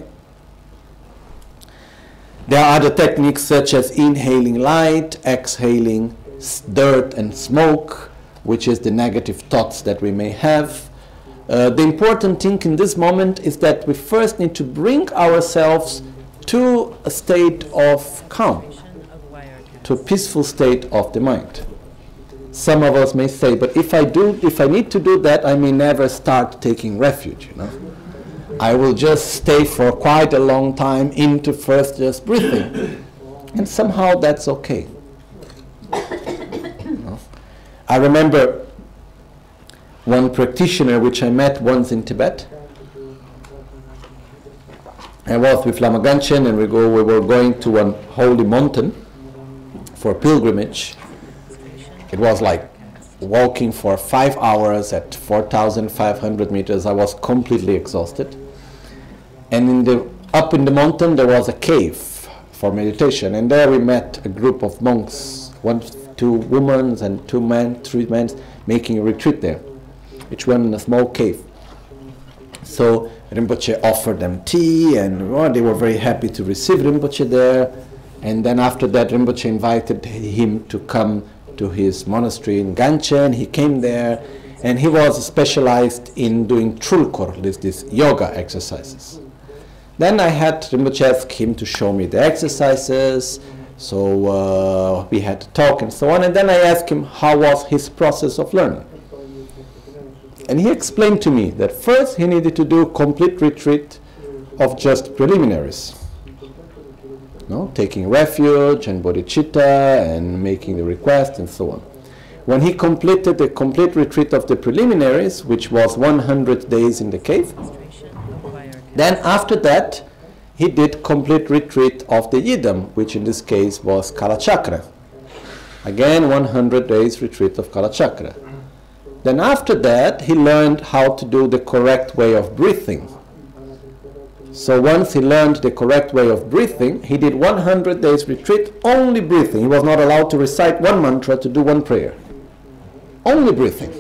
There are other techniques such as inhaling light, exhaling dirt and smoke, which is the negative thoughts that we may have. The important thing in this moment is that we first need to bring ourselves to a state of calm, to a peaceful state of the mind. Some of us may say, but if I need to do that, I may never start taking refuge, I will just stay for quite a long time into first just breathing. And somehow that's okay. I remember one practitioner which I met once in Tibet. I was with Lama Ganchen, and we were going to one holy mountain for pilgrimage. It was like walking for 5 hours at 4,500 meters. I was completely exhausted. And up in the mountain there was a cave for meditation, and there we met a group of monks, 2 women and 2 men, 3 men, making a retreat there, each one in a small cave. So Rinpoche offered them tea, and they were very happy to receive Rinpoche there. And then after that, Rinpoche invited him to come to his monastery in Ganchen. He came there, and he was specialized in doing trulkur, these yoga exercises. Then I had Rinpoche ask him to show me the exercises, so we had to talk and so on. And then I asked him how was his process of learning. And he explained to me that first he needed to do complete retreat of just preliminaries. Taking refuge and bodhicitta and making the request and so on. When he completed the complete retreat of the preliminaries, which was 100 days in the cave, then after that he did complete retreat of the Yidam, which in this case was Kalachakra. Again, 100 days retreat of Kalachakra. Then after that, he learned how to do the correct way of breathing. So once he learned the correct way of breathing, he did 100 days retreat, only breathing. He was not allowed to recite one mantra, to do one prayer. Only breathing.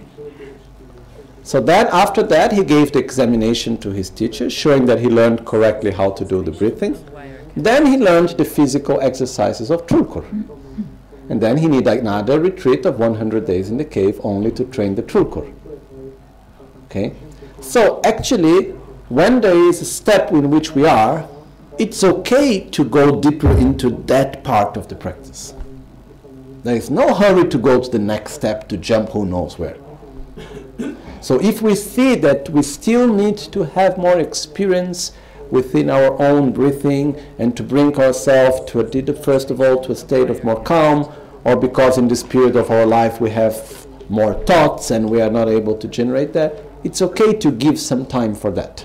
So then after that, he gave the examination to his teacher, showing that he learned correctly how to do the breathing. Then he learned the physical exercises of Trulkur. And then he needed another retreat of 100 days in the cave only to train the Trulkur. Okay? So actually, when there is a step in which we are, it's okay to go deeper into that part of the practice. There is no hurry to go to the next step, to jump who knows where. So if we see that we still need to have more experience within our own breathing and to bring ourselves to first of all to a state of more calm, or because in this period of our life we have more thoughts and we are not able to generate that, it's okay to give some time for that.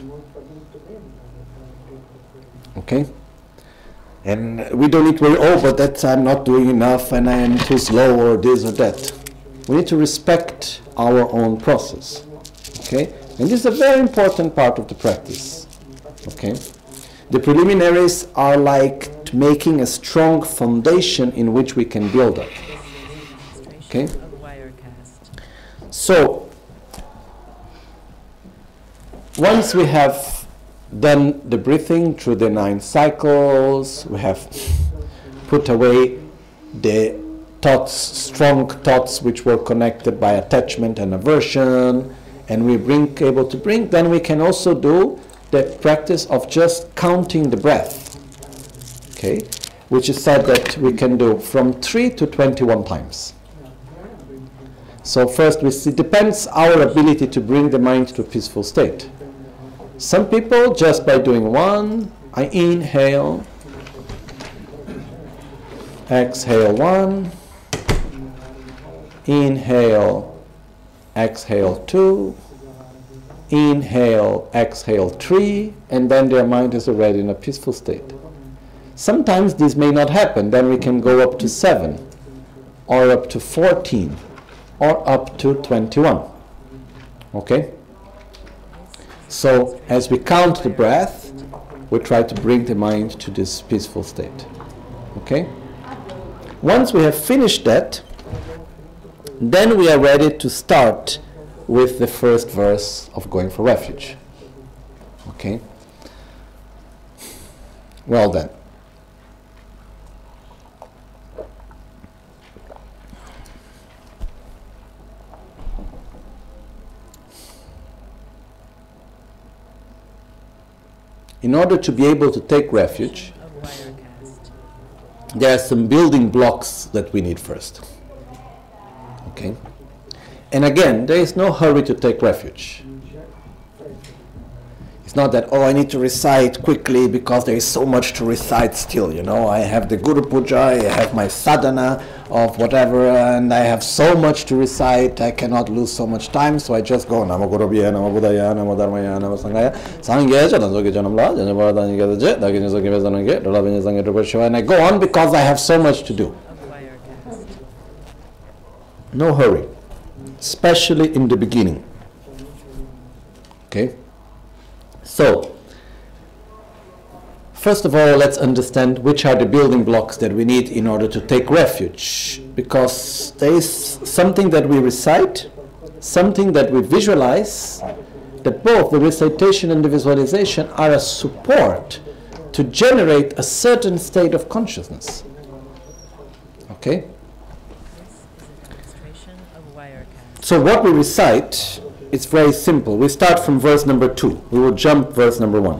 Okay? And we don't need to worry, but I'm not doing enough and I am too slow or this or that. We need to respect our own process. Okay? And this is a very important part of the practice. Okay? The preliminaries are like making a strong foundation in which we can build up. Okay? So, once we have done the breathing through the 9 cycles, we have put away the thoughts, strong thoughts which were connected by attachment and aversion, and we able to bring, then we can also do the practice of just counting the breath. Okay, which is said that we can do from 3 to 21 times. So first we see, depends our ability to bring the mind to a peaceful state. Some people just by doing 1, I inhale, exhale 1, inhale, exhale 2, inhale, exhale 3, and then their mind is already in a peaceful state. Sometimes this may not happen, then we can go up to 7, or up to 14, or up to 21. Okay? So, as we count the breath, we try to bring the mind to this peaceful state. Okay? Once we have finished that, then we are ready to start with the first verse of Going for Refuge. Okay? Well then. In order to be able to take refuge, there are some building blocks that we need first. Okay? And again, there is no hurry to take refuge. It's not that, oh, I need to recite quickly because there is so much to recite still, you know. I have the Guru Puja, I have my sadhana of whatever, and I have so much to recite, I cannot lose so much time, so I just go, Namo Gurubhaya, Namo Buddhaya, Namo Dharmaya, Namo Sanghaya, Sangye, Chadanzoki Janamla, Janabharadani Gadaje, Daginyosoki Vezanange, Dolavini Sangye Drupashiva, and I go on because I have so much to do. No hurry, especially in the beginning. Okay? So, first of all, let's understand which are the building blocks that we need in order to take refuge. Because there is something that we recite, something that we visualize, that both the recitation and the visualization are a support to generate a certain state of consciousness. Okay? So what we recite, it's very simple. We start from verse number 2. We will jump verse number 1.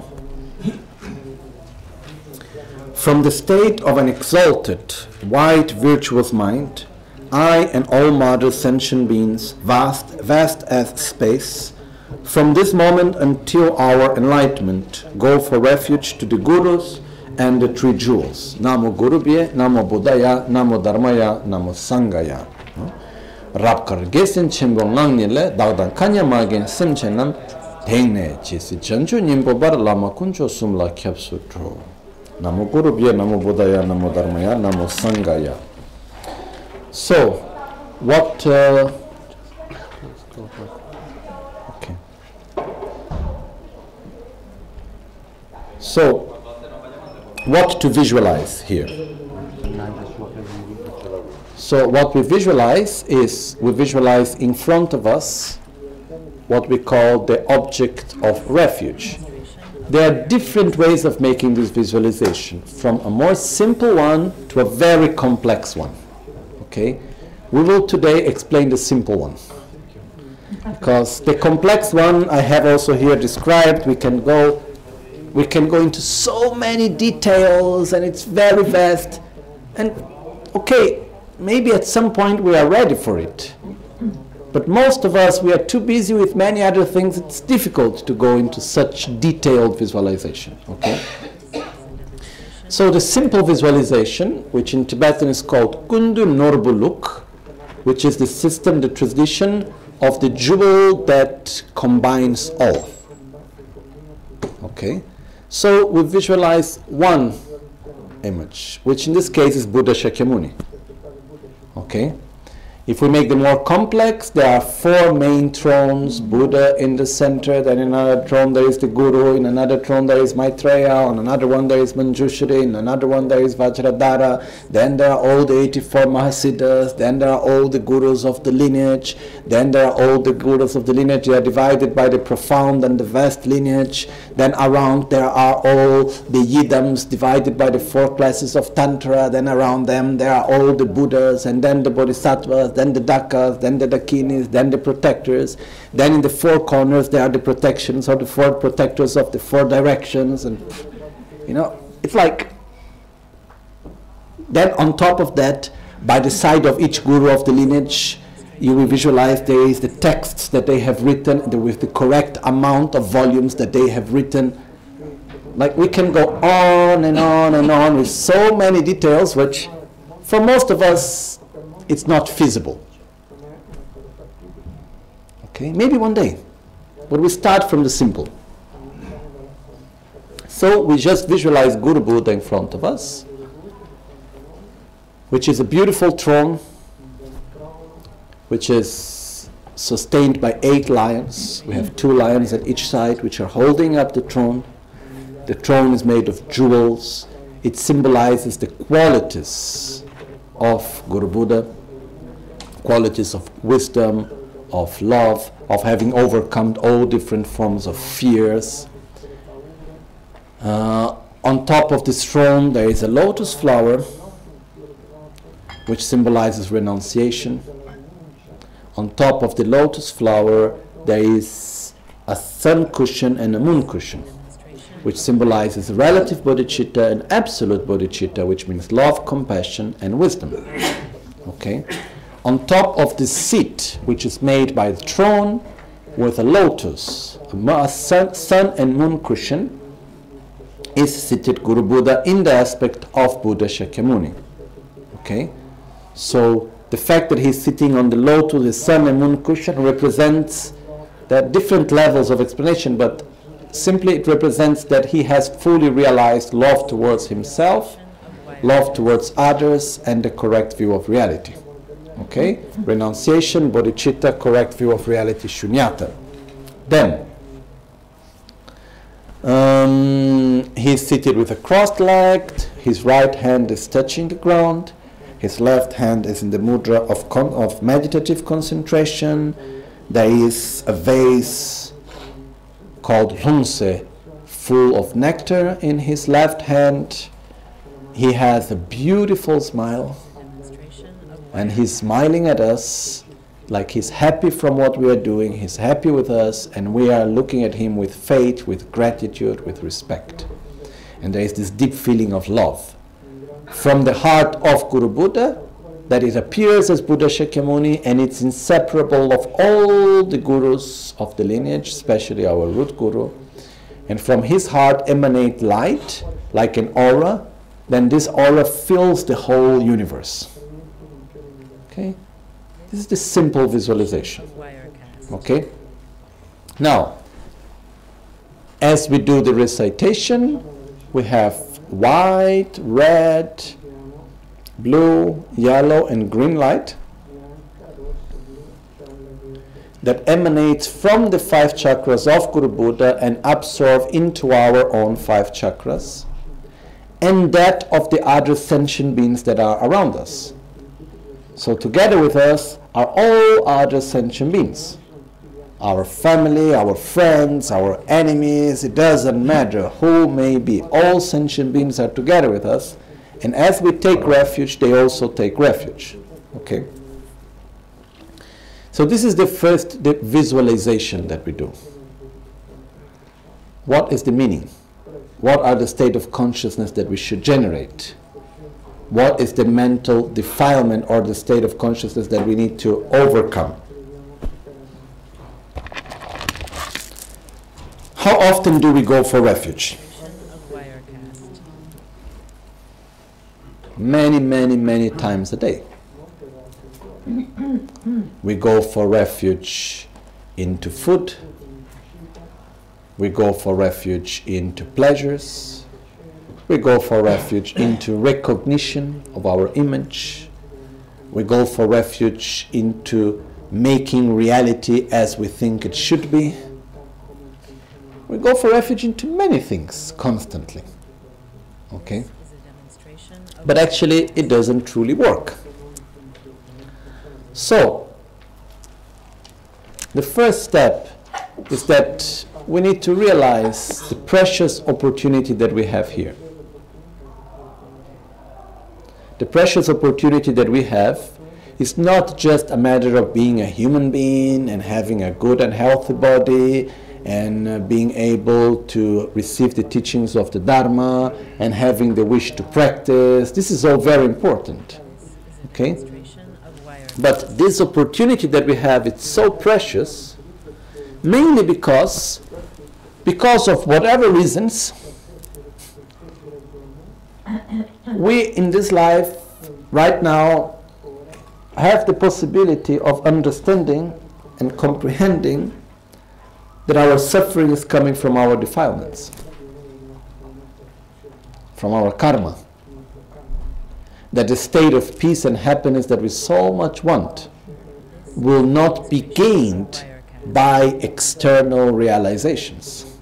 From the state of an exalted, white, virtuous mind, I and all modern sentient beings, vast as space, from this moment until our enlightenment, go for refuge to the Gurus and the three jewels. Namo Gurubhye, Namo Buddhaya, Namo Dharmaya, Namo Sanghaya. Rapkar gesin chenpo ngangnile dagdan kanya magin simchenam tengne chisi janju nyingpo bar lama kuncho sumla kyapsu tro. Namo Gurubhye, Namo Buddhaya, Namo Dharmaya, Namo Sanghaya. So, what... okay. So, what to visualize here? So what we visualize is, we visualize in front of us what we call the object of refuge. There are different ways of making this visualization, from a more simple one to a very complex one. Okay? We will today explain the simple one. Because the complex one I have also here described. We can go into so many details and it's very vast. And okay, maybe at some point we are ready for it. But most of us, we are too busy with many other things. It's difficult to go into such detailed visualization. Okay? So the simple visualization, which in Tibetan is called Kundu Norbuluk, which is the system, the tradition of the jewel that combines all. Okay? So we visualize one image, which in this case is Buddha Shakyamuni. Okay? If we make them more complex, there are 4 main thrones, Buddha in the center, then in another throne there is the Guru, in another throne there is Maitreya, on another one there is Manjushri, in another one there is Vajradhara, then there are all the 84 Mahasiddhas, then there are all the Gurus of the lineage, then there are all the Gurus of the lineage, they are divided by the profound and the vast lineage, then around there are all the Yidams divided by the 4 classes of Tantra, then around them there are all the Buddhas, and then the Bodhisattvas, then the Dakas, then the Dakinis, then the protectors. Then in the 4 corners there are the protections, or the 4 protectors of the 4 directions. And, you know, it's like... Then on top of that, by the side of each guru of the lineage, you will visualize there is the texts that they have written, with the correct amount of volumes that they have written. Like, we can go on and on and on with so many details, which for most of us, it's not feasible. Okay, maybe one day, but we start from the simple. So we just visualize Guru Buddha in front of us, which is a beautiful throne, which is sustained by 8 lions. We have 2 lions at each side, which are holding up the throne. The throne is made of jewels. It symbolizes the qualities of Guru Buddha, qualities of wisdom, of love, of having overcome all different forms of fears. On top of this throne there is a lotus flower, which symbolizes renunciation. On top of the lotus flower there is a sun cushion and a moon cushion, which symbolizes relative bodhicitta and absolute bodhicitta, which means love, compassion, and wisdom. Okay? On top of the seat, which is made by the throne, with a lotus, a sun and moon cushion, is seated Guru Buddha in the aspect of Buddha Shakyamuni. Okay? So the fact that he's sitting on the lotus, the sun and moon cushion, represents the different levels of explanation, but simply it represents that he has fully realized love towards himself, love towards others, and the correct view of reality. Okay? Renunciation, bodhicitta, correct view of reality, shunyata. Then, he's seated with a crossed leg, his right hand is touching the ground, his left hand is in the mudra of meditative concentration. There is a vase called Hunse, full of nectar in his left hand. He has a beautiful smile, and he's smiling at us like he's happy from what we are doing, he's happy with us, and we are looking at him with faith, with gratitude, with respect. And there is this deep feeling of love from the heart of Guru Buddha, that it appears as Buddha Shakyamuni, and it's inseparable of all the gurus of the lineage, especially our root guru. And from his heart emanate light, like an aura. Then this aura fills the whole universe. Okay? This is the simple visualization. Okay? Now, as we do the recitation, we have white, red, blue, yellow, and green light that emanates from the 5 chakras of Guru Buddha and absorb into our own 5 chakras, and that of the other sentient beings that are around us. So together with us are all other sentient beings. Our family, our friends, our enemies, it doesn't matter who may be. All sentient beings are together with us, and as we take refuge, they also take refuge. Okay? So this is the first visualization that we do. What is the meaning? What are the state of consciousness that we should generate? What is the mental defilement or the state of consciousness that we need to overcome? How often do we go for refuge? Many, many, many times a day. We go for refuge into food. We go for refuge into pleasures. We go for refuge into recognition of our image. We go for refuge into making reality as we think it should be. We go for refuge into many things constantly. Okay? But actually it doesn't truly work. So, the first step is that we need to realize the precious opportunity that we have here. The precious opportunity that we have is not just a matter of being a human being and having a good and healthy body and being able to receive the teachings of the Dharma and having the wish to practice. This is all very important. Okay? But this opportunity that we have, it's so precious, mainly because of whatever reasons, we in this life right now have the possibility of understanding and comprehending that our suffering is coming from our defilements, from our karma. That the state of peace and happiness that we so much want will not be gained by external realizations.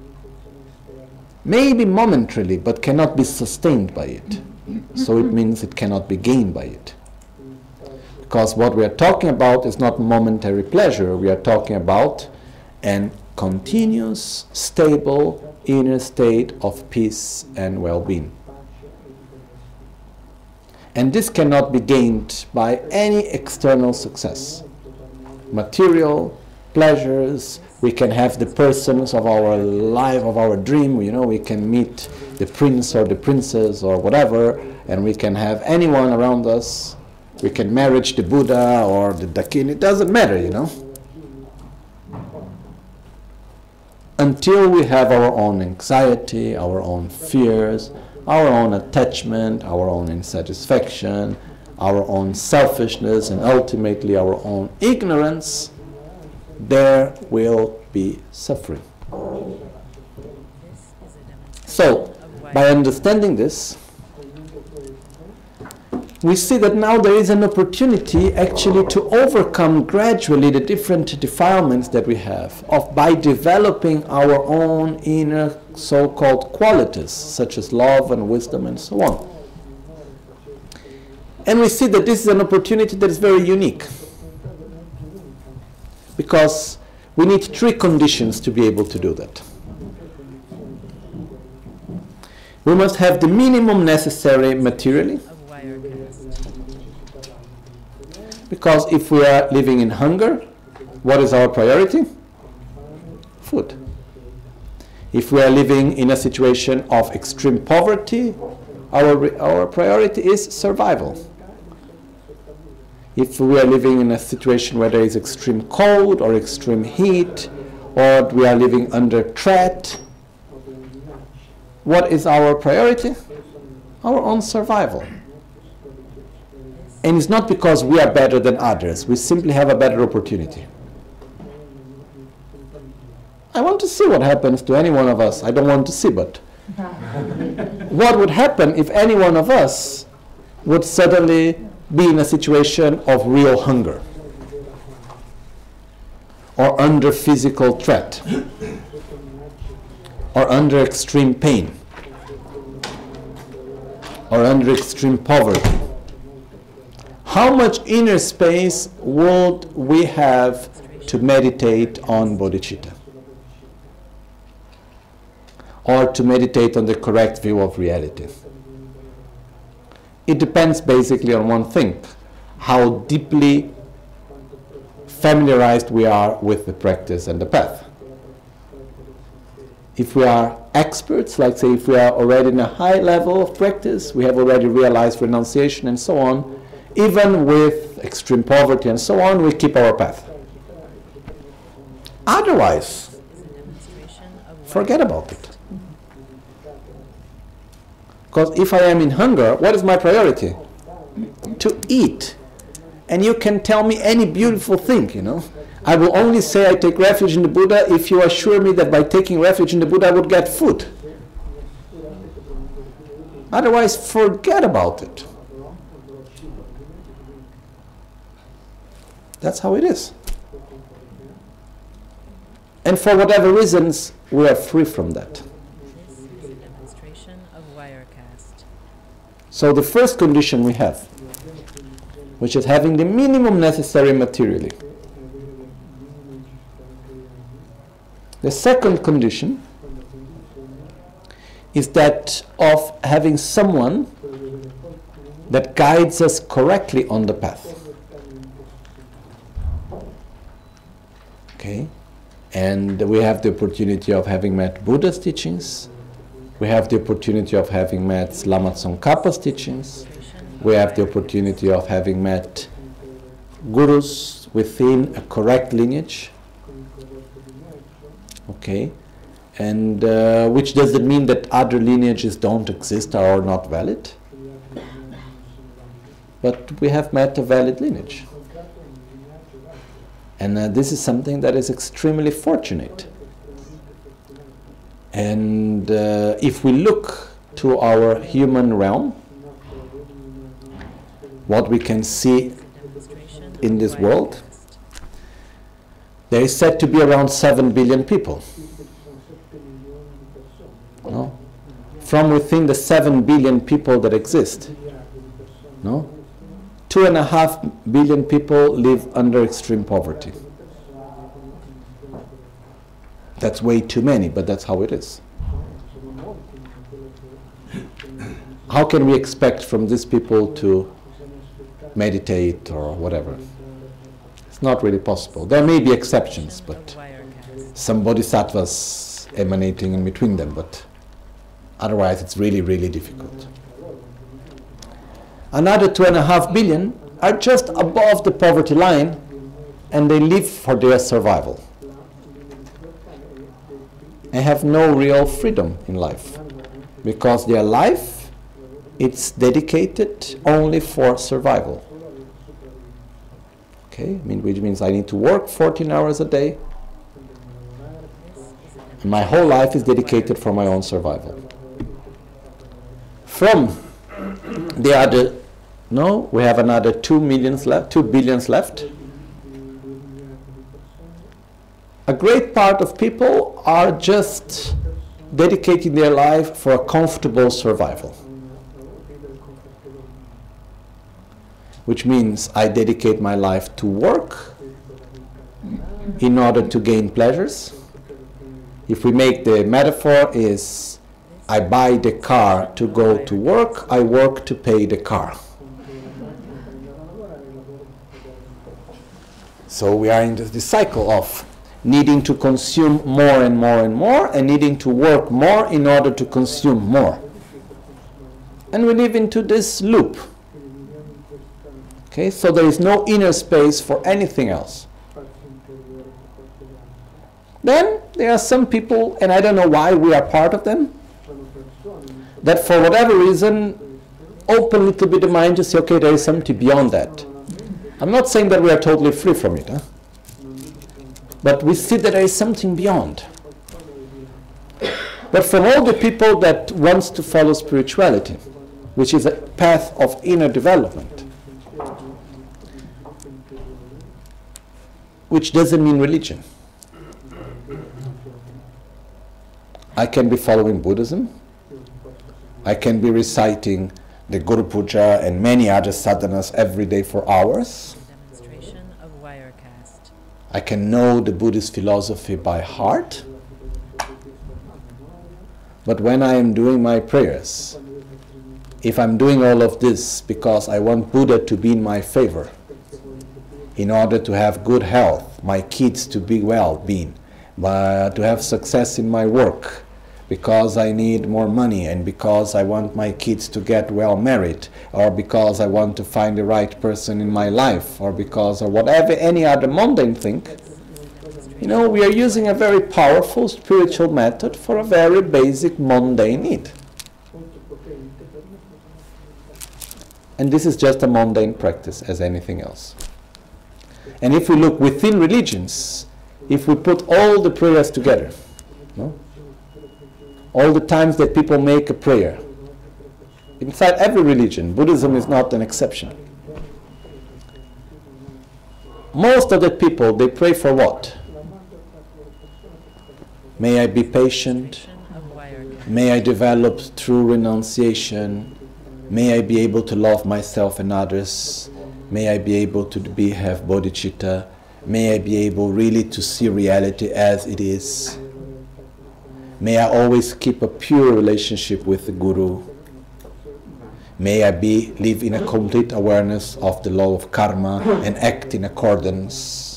Maybe momentarily, but cannot be sustained by it. So it means it cannot be gained by it. Because what we are talking about is not momentary pleasure, we are talking about an continuous, stable inner state of peace and well-being. And this cannot be gained by any external success. Material, pleasures, we can have the persons of our life, of our dream, we can meet the prince or the princess or whatever, and we can have anyone around us. We can marry the Buddha or the Dakin, it doesn't matter, until we have our own anxiety, our own fears, our own attachment, our own insatisfaction, our own selfishness, and ultimately our own ignorance, there will be suffering. So, by understanding this, we see that now there is an opportunity actually to overcome gradually the different defilements that we have by developing our own inner so-called qualities, such as love and wisdom and so on. And we see that this is an opportunity that is very unique, because we need three conditions to be able to do that. We must have the minimum necessary materially, because if we are living in hunger, what is our priority? Food. If we are living in a situation of extreme poverty, our priority is survival. If we are living in a situation where there is extreme cold or extreme heat, or we are living under threat, what is our priority? Our own survival. And it's not because we are better than others. We simply have a better opportunity. I want to see what happens to any one of us. I don't want to see, but what would happen if any one of us would suddenly be in a situation of real hunger or under physical threat or under extreme pain or under extreme poverty? How much inner space would we have to meditate on bodhicitta? Or to meditate on the correct view of reality? It depends basically on one thing: how deeply familiarized we are with the practice and the path. If we are experts, like say if we are already in a high level of practice, we have already realized renunciation and so on, even with extreme poverty and so on, we keep our path. Otherwise, forget about it. Because if I am in hunger, what is my priority? To eat. And you can tell me any beautiful thing, you know. I will only say I take refuge in the Buddha if you assure me that by taking refuge in the Buddha I would get food. Otherwise, forget about it. That's how it is. And for whatever reasons, we are free from that. This is a demonstration of Wirecast. So the first condition we have, which is having the minimum necessary materially. The second condition is that of having someone that guides us correctly on the path. Okay? And we have the opportunity of having met Buddha's teachings. We have the opportunity of having met Lama Tsongkhapa's teachings. We have the opportunity of having met gurus within a correct lineage. Okay? And which doesn't mean that other lineages don't exist or are not valid. But we have met a valid lineage. And this is something that is extremely fortunate. And if we look to our human realm, what we can see in this world, there is said to be around 7 billion people. No? From within the 7 billion people that exist, no? 2.5 billion people live under extreme poverty. That's way too many, but that's how it is. How can we expect from these people to meditate or whatever? It's not really possible. There may be exceptions, but some bodhisattvas emanating in between them, but otherwise it's really, really difficult. Another 2.5 billion are just above the poverty line, and they live for their survival. and have no real freedom in life, because their life, it's dedicated only for survival. Okay, which means I need to work 14 hours a day. My whole life is dedicated for my own survival. From the other, we have another 2 billions left. A great part of people are just dedicating their life for a comfortable survival. Which means I dedicate my life to work in order to gain pleasures. If we make the metaphor is, I buy the car to go to work, I work to pay the car. So we are in this cycle of needing to consume more and more and more, and needing to work more in order to consume more. And we live into this loop. Okay, so there is no inner space for anything else. Then there are some people, and I don't know why we are part of them, that for whatever reason open a little bit the mind to say, okay, there is something beyond that. I'm not saying that we are totally free from it, but we see that there is something beyond. But from all the people that wants to follow spirituality, which is a path of inner development, which doesn't mean religion. I can be following Buddhism. I can be reciting the Guru Puja and many other sadhanas every day for hours. Demonstration of Wirecast. I can know the Buddhist philosophy by heart. But when I am doing my prayers, if I'm doing all of this because I want Buddha to be in my favor, in order to have good health, my kids to be well-being, to have success in my work, because I need more money, and because I want my kids to get well married, or because I want to find the right person in my life, or because of whatever, any other mundane thing, we are using a very powerful spiritual method for a very basic mundane need. And this is just a mundane practice as anything else. And if we look within religions, if we put all the prayers together, all the times that people make a prayer, inside every religion, Buddhism is not an exception. Most of the people, they pray for what? May I be patient. May I develop true renunciation. May I be able to love myself and others. May I be able to have bodhicitta. May I be able really to see reality as it is. May I always keep a pure relationship with the Guru. May I live in a complete awareness of the law of karma and act in accordance.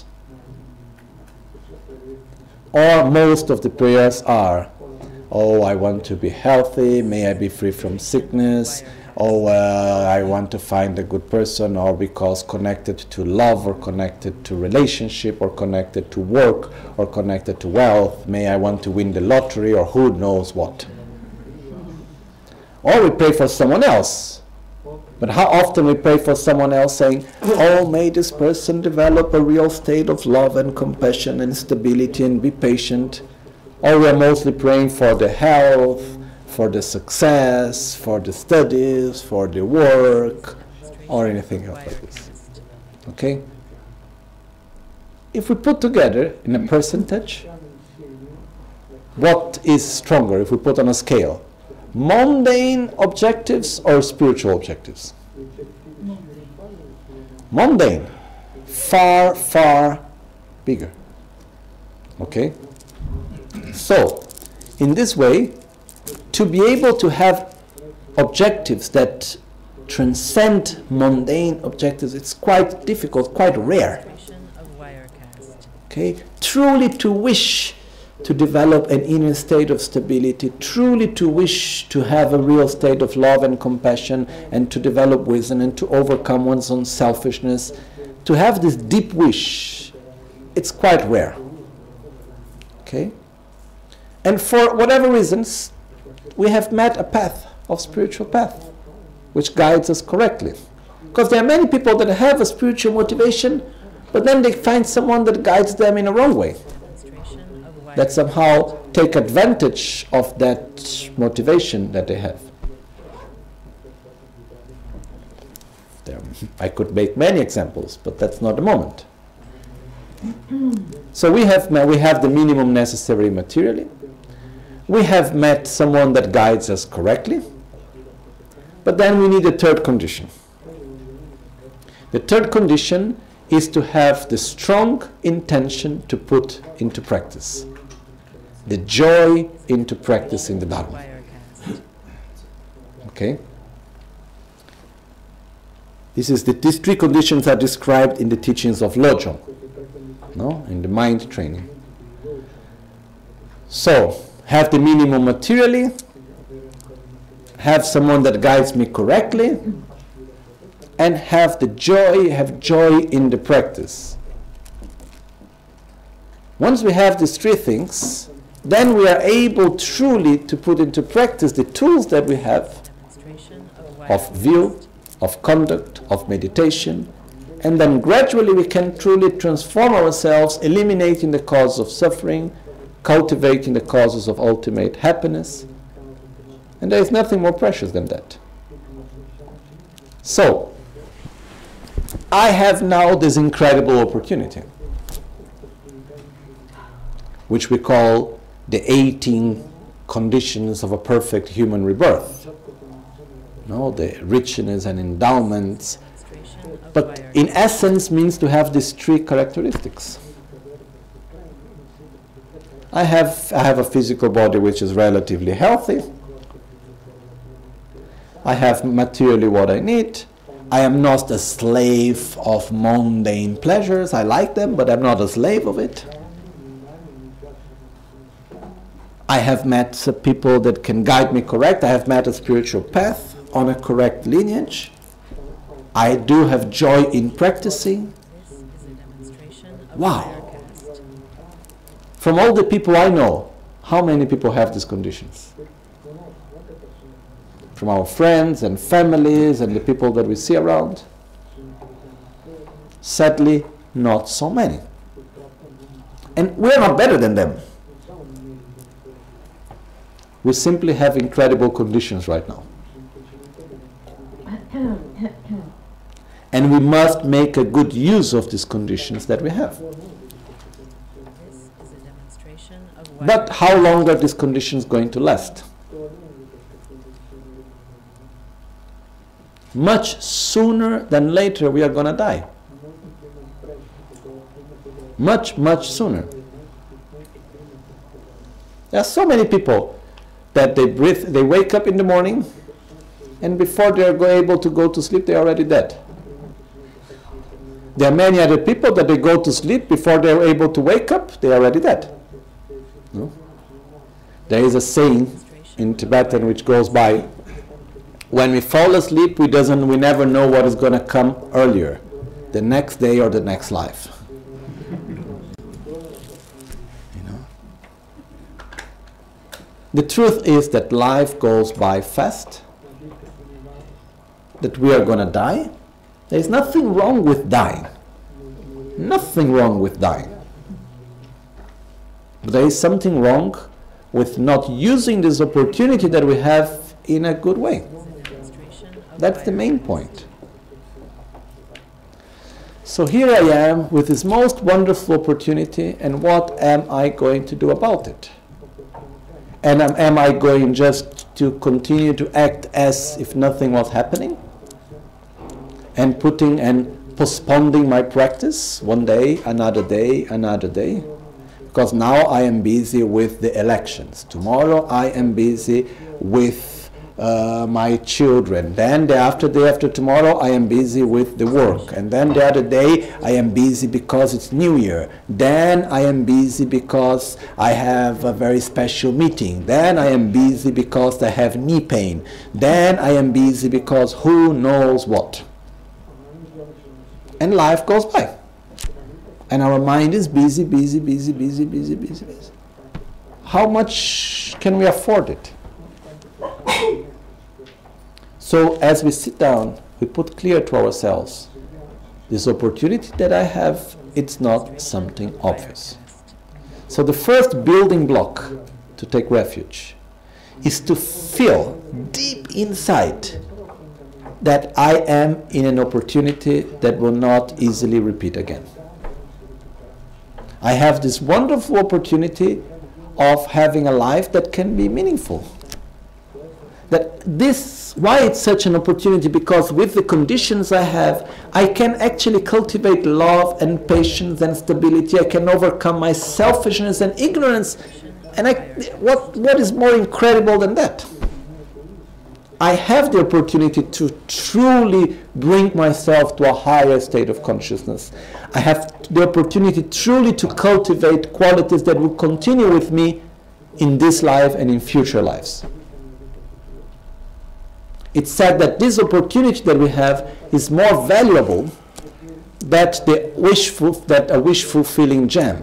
Or most of the prayers are, oh, I want to be healthy, may I be free from sickness, oh, I want to find a good person, or because connected to love, or connected to relationship, or connected to work, or connected to wealth, may I want to win the lottery, or who knows what. Or we pray for someone else. But how often we pray for someone else saying, oh, may this person develop a real state of love and compassion and stability and be patient. Or we are mostly praying for the health, for the success, for the studies, for the work, or anything else like this. Okay? If we put together in a percentage, what is stronger if we put on a scale? Mundane objectives or spiritual objectives? Mundane. Far, far bigger. Okay? So, in this way, to be able to have objectives that transcend mundane objectives, it's quite difficult, quite rare. Okay? Truly to wish to develop an inner state of stability, truly to wish to have a real state of love and compassion, and to develop wisdom and to overcome one's own selfishness, to have this deep wish, it's quite rare. Okay? And for whatever reasons, we have met a path of spiritual path, which guides us correctly. Because there are many people that have a spiritual motivation, but then they find someone that guides them in a wrong way, that somehow take advantage of that motivation that they have. I could make many examples, but that's not the moment. So we have the minimum necessary materially. We have met someone that guides us correctly. But then we need a third condition. The third condition is to have the strong intention to put into practice, the joy into practicing the Dharma. Okay? These three conditions are described in the teachings of Lojong, in the mind training. So, have the minimum materially, have someone that guides me correctly, and have joy in the practice. Once we have these three things, then we are able truly to put into practice the tools that we have of view, of conduct, of meditation, and then gradually we can truly transform ourselves, eliminating the cause of suffering, cultivating the causes of ultimate happiness. And there is nothing more precious than that. So, I have now this incredible opportunity, which we call the 18 conditions of a perfect human rebirth. The richness and endowments, but in essence means to have these three characteristics. I have a physical body which is relatively healthy. I have materially what I need. I am not a slave of mundane pleasures. I like them, but I'm not a slave of it. I have met people that can guide me correct. I have met a spiritual path on a correct lineage. I do have joy in practicing. Wow. From all the people I know, how many people have these conditions? From our friends and families and the people that we see around? Sadly, not so many. And we're not better than them. We simply have incredible conditions right now. And we must make a good use of these conditions that we have. But how long are these conditions going to last? Much sooner than later we are going to die. Much, much sooner. There are so many people that they wake up in the morning, and before they are able to go to sleep, they are already dead. There are many other people that they go to sleep before they are able to wake up, they are already dead. No? There is a saying in Tibetan which goes by, when we fall asleep, we never know what is going to come earlier, the next day or the next life. The truth is that life goes by fast, that we are going to die. There is nothing wrong with dying. Nothing wrong with dying. But there is something wrong with not using this opportunity that we have in a good way. That's the main point. So here I am with this most wonderful opportunity, and what am I going to do about it? And am I going just to continue to act as if nothing was happening? And putting and postponing my practice one day, another day, another day? Because now I am busy with the elections. Tomorrow I am busy with my children. Then the day after tomorrow I am busy with the work. And then the other day I am busy because it's New Year. Then I am busy because I have a very special meeting. Then I am busy because I have knee pain. Then I am busy because who knows what. And life goes by. And our mind is busy, busy, busy, busy, busy, busy, busy. how much can we afford it? So as we sit down, we put clear to ourselves, this opportunity that I have, it's not something obvious. So the first building block to take refuge is to feel deep inside that I am in an opportunity that will not easily repeat again. I have this wonderful opportunity of having a life that can be meaningful. Why it's such an opportunity? Because with the conditions I have, I can actually cultivate love and patience and stability. I can overcome my selfishness and ignorance. And what is more incredible than that? I have the opportunity to truly bring myself to a higher state of consciousness. I have the opportunity truly to cultivate qualities that will continue with me in this life and in future lives. It's said that this opportunity that we have is more valuable than a wish-fulfilling gem.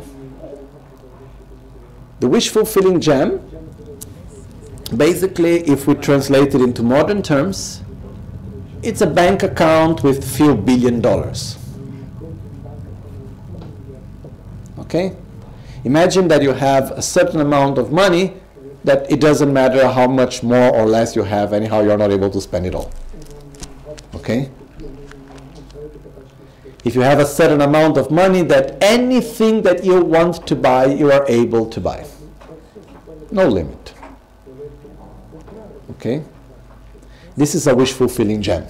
The wish-fulfilling gem, basically, if we translate it into modern terms, it's a bank account with few $billion. Okay? Imagine that you have a certain amount of money that it doesn't matter how much more or less you have, anyhow you're not able to spend it all. Okay? If you have a certain amount of money that anything that you want to buy, you are able to buy. No limit. Okay? This is a wish-fulfilling gem.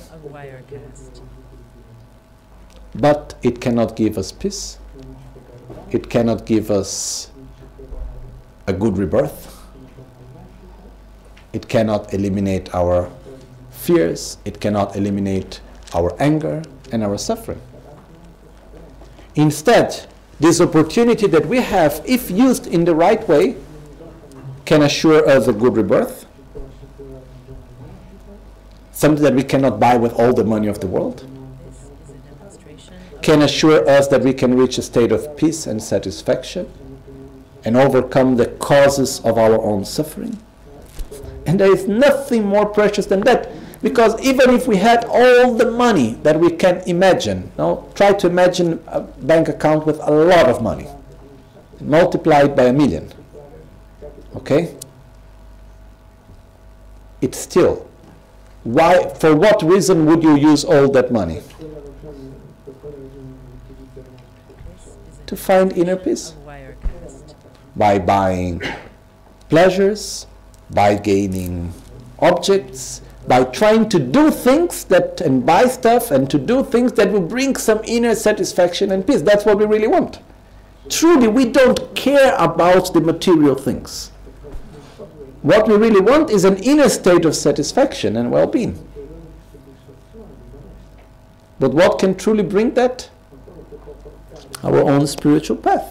But it cannot give us peace. It cannot give us a good rebirth. It cannot eliminate our fears. It cannot eliminate our anger and our suffering. Instead, this opportunity that we have, if used in the right way, can assure us a good rebirth. Something that we cannot buy with all the money of the world. Can assure us that we can reach a state of peace and satisfaction and overcome the causes of our own suffering. And there is nothing more precious than that, because even if we had all the money that we can imagine, try to imagine a bank account with a lot of money, multiplied by 1,000,000. Okay? It's still, for what reason would you use all that money? To find inner peace. By buying pleasures, by gaining objects, by trying to do things and buy stuff and to do things that will bring some inner satisfaction and peace. That's what we really want. Truly, we don't care about the material things. What we really want is an inner state of satisfaction and well-being. But what can truly bring that? Our own spiritual path.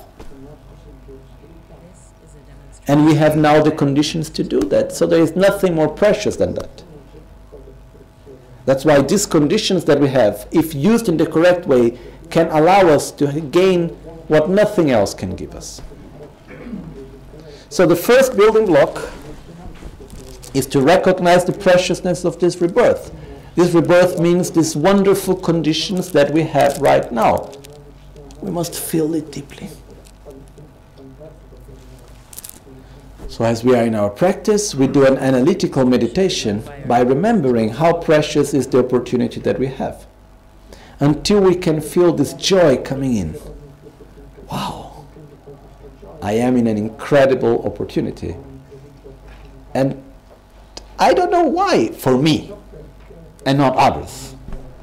And we have now the conditions to do that. So there is nothing more precious than that. That's why these conditions that we have, if used in the correct way, can allow us to gain what nothing else can give us. So the first building block is to recognize the preciousness of this rebirth. This rebirth means these wonderful conditions that we have right now. We must feel it deeply. So as we are in our practice, we do an analytical meditation by remembering how precious is the opportunity that we have. Until we can feel this joy coming in. Wow, I am in an incredible opportunity. And I don't know why, for me, and not others.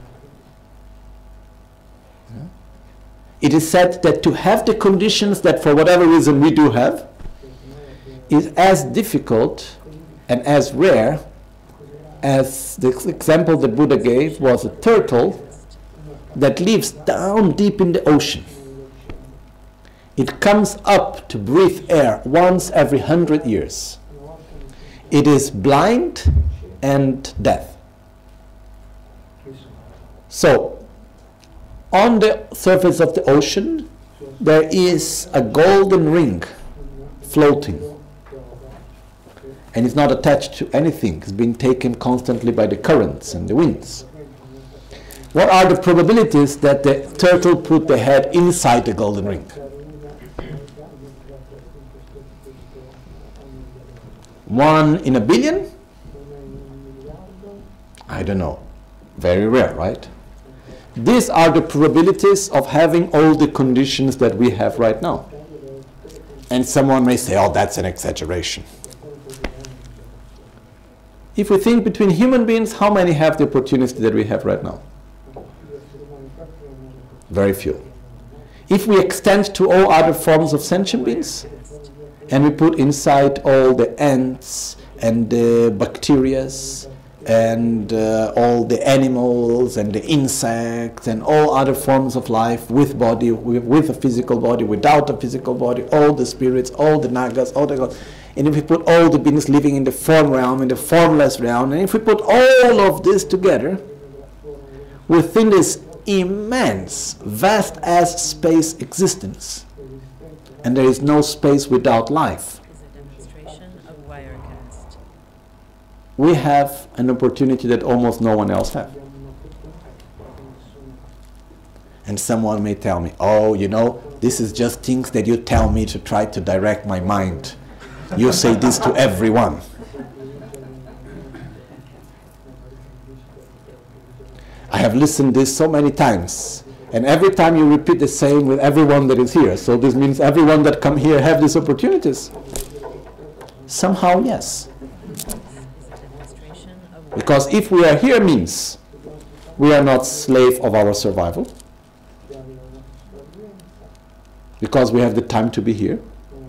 It is said that to have the conditions that for whatever reason we do have, is as difficult and as rare as the example that Buddha gave was a turtle that lives down deep in the ocean. It comes up to breathe air once every 100 years. It is blind and deaf. So, on the surface of the ocean, there is a golden ring floating. And it's not attached to anything. It's being taken constantly by the currents and the winds. What are the probabilities that the turtle put the head inside the golden ring? 1 in a billion? I don't know. Very rare, right? These are the probabilities of having all the conditions that we have right now. And someone may say, oh, that's an exaggeration. If we think between human beings, how many have the opportunity that we have right now? Very few. If we extend to all other forms of sentient beings, and we put inside all the ants and the bacteria and all the animals and the insects and all other forms of life with body, with a physical body, without a physical body, all the spirits, all the nagas, all the gods. And if we put all the beings living in the form realm, in the formless realm, and if we put all of this together within this immense, vast as space existence, and there is no space without life, Is a demonstration of Wirecast. we have an opportunity that almost no one else has. And someone may tell me, oh, you know, this is just things that you tell me to try to direct my mind. You say this to everyone. I have listened this so many times, and every time you repeat the same with everyone that is here. So this means everyone that come here have these opportunities. Somehow, yes. Because if we are here means we are not slave of our survival. Because we have the time to be here.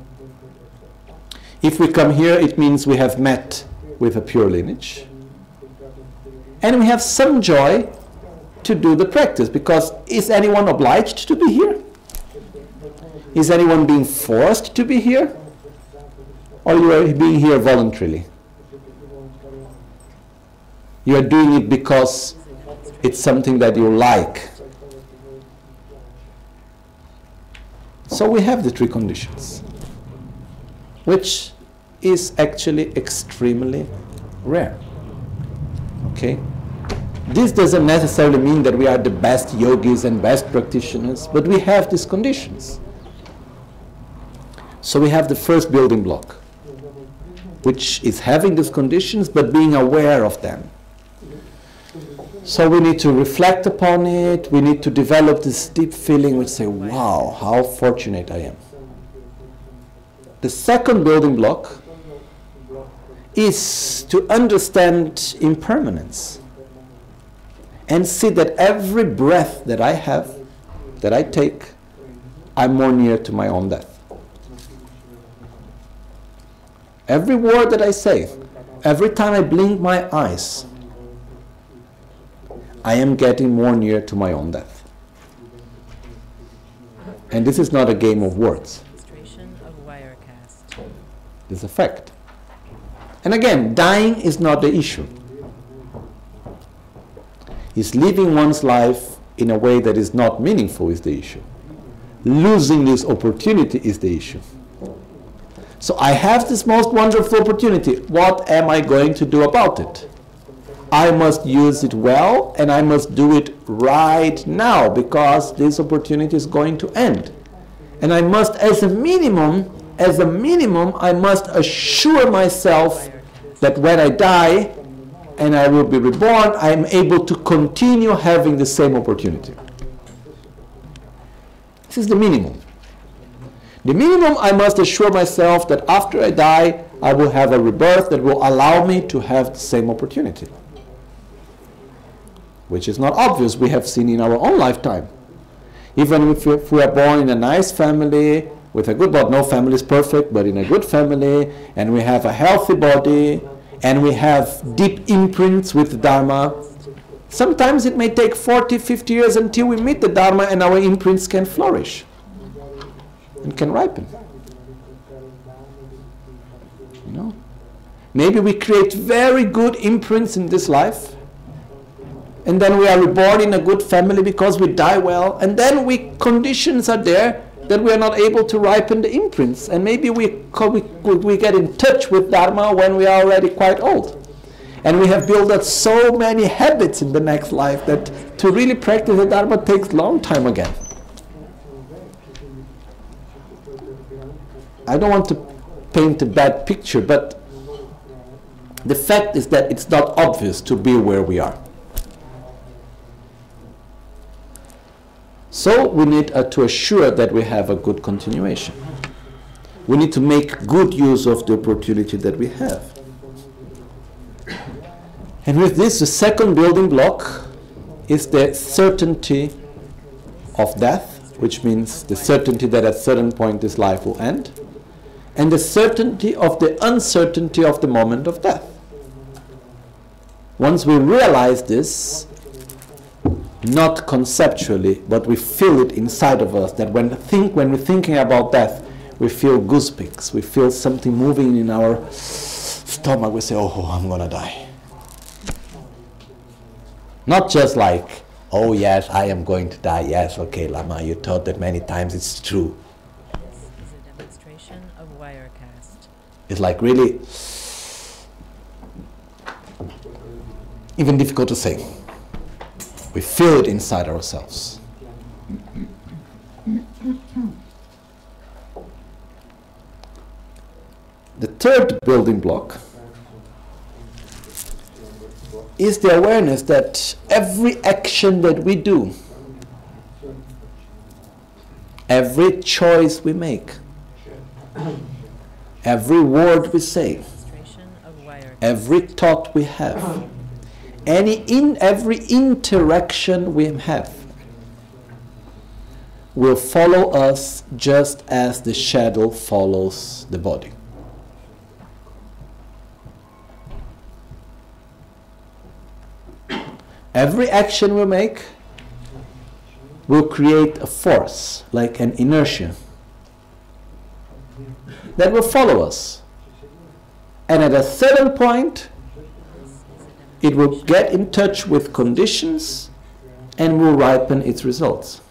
If we come here, it means we have met with a pure lineage. And we have some joy to do the practice, because is anyone obliged to be here? Is anyone being forced to be here? Or you are being here voluntarily? You are doing it because it's something that you like. So we have the three conditions, which is actually extremely rare. Okay? This doesn't necessarily mean that we are the best yogis and best practitioners, but we have these conditions. So we have the first building block, which is having these conditions but being aware of them. So we need to reflect upon it, we need to develop this deep feeling which say, wow, how fortunate I am. The second building block is to understand impermanence and see that every breath that I have, that I take, I'm more near to my own death. Every word that I say, every time I blink my eyes, I am getting more near to my own death. And this is not a game of words. This is a fact. And again, dying is not the issue. Is living one's life in a way that is not meaningful is the issue. Losing this opportunity is the issue. So I have this most wonderful opportunity. What am I going to do about it? I must use it well, and I must do it right now, because this opportunity is going to end. And I must, as a minimum, I must assure myself that when I die and I will be reborn, I am able to continue having the same opportunity. This is the minimum. The minimum, I must assure myself that after I die, I will have a rebirth that will allow me to have the same opportunity. Which is not obvious, we have seen in our own lifetime. Even if we are born in a nice family, with a good body, no family is perfect, but in a good family, and we have a healthy body, and we have deep imprints with the Dharma, sometimes it may take 40, 50 years until we meet the Dharma and our imprints can flourish and can ripen. You know? Maybe we create very good imprints in this life, and then we are reborn in a good family because we die well, and then conditions are there that we are not able to ripen the imprints, and maybe we get in touch with Dharma when we are already quite old. And we have built up so many habits in the next life that to really practice the Dharma takes a long time again. I don't want to paint a bad picture, but the fact is that it's not obvious to be where we are. So we need to assure that we have a good continuation. We need to make good use of the opportunity that we have. And with this, the second building block is the certainty of death, which means the certainty that at a certain point this life will end, and the certainty of the uncertainty of the moment of death. Once we realize this, not conceptually, but we feel it inside of us, that when we're thinking about death, we feel goosebumps, we feel something moving in our stomach, we say, oh, I'm gonna die. Not just like, oh yes, I am going to die, yes, okay, Lama, you taught that many times, it's true. This is a demonstration of Wirecast. It's like really, even difficult to say. We feel it inside ourselves. The third building block is the awareness that every action that we do, every choice we make, every word we say, Demonstration of Wirecast. every thought we have, every interaction we have will follow us just as the shadow follows the body. Every action we make will create a force, like an inertia, that will follow us. And at a certain point, it will get in touch with conditions and will ripen its results.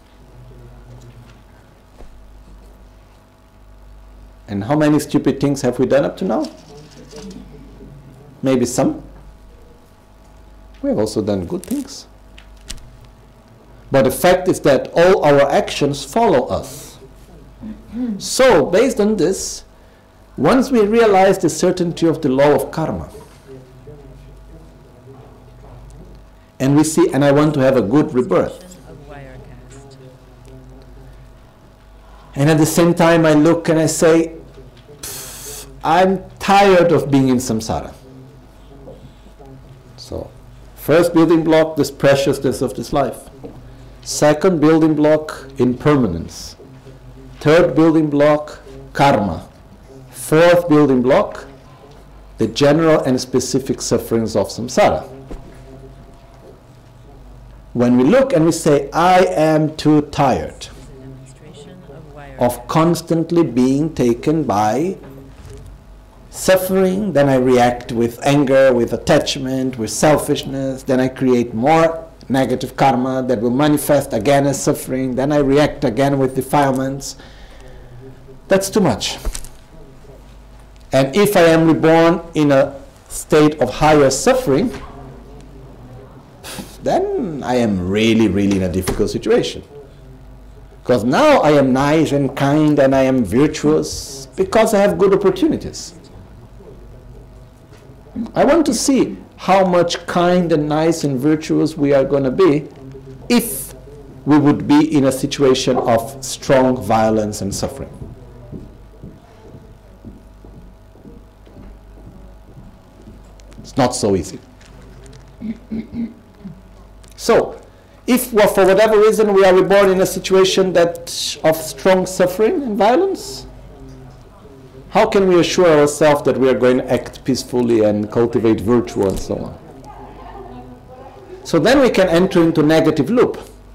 And how many stupid things have we done up to now? Maybe some. We have also done good things. But the fact is that all our actions follow us. So, based on this, once we realize the certainty of the law of karma, and we see, and I want to have a good rebirth. Of Wirecast. And at the same time I look and I say, I'm tired of being in samsara. So, first building block, this preciousness of this life. Second building block, impermanence. Third building block, karma. Fourth building block, the general and specific sufferings of samsara. When we look and we say, I am too tired of constantly being taken by suffering, then I react with anger, with attachment, with selfishness, then I create more negative karma that will manifest again as suffering, then I react again with defilements. That's too much. And if I am reborn in a state of higher suffering, then I am really, really in a difficult situation. Because now I am nice and kind and I am virtuous because I have good opportunities. I want to see how much kind and nice and virtuous we are going to be if we would be in a situation of strong violence and suffering. It's not so easy. So, if for whatever reason we are reborn in a situation of strong suffering and violence, how can we assure ourselves that we are going to act peacefully and cultivate virtue and so on? So then we can enter into negative loop.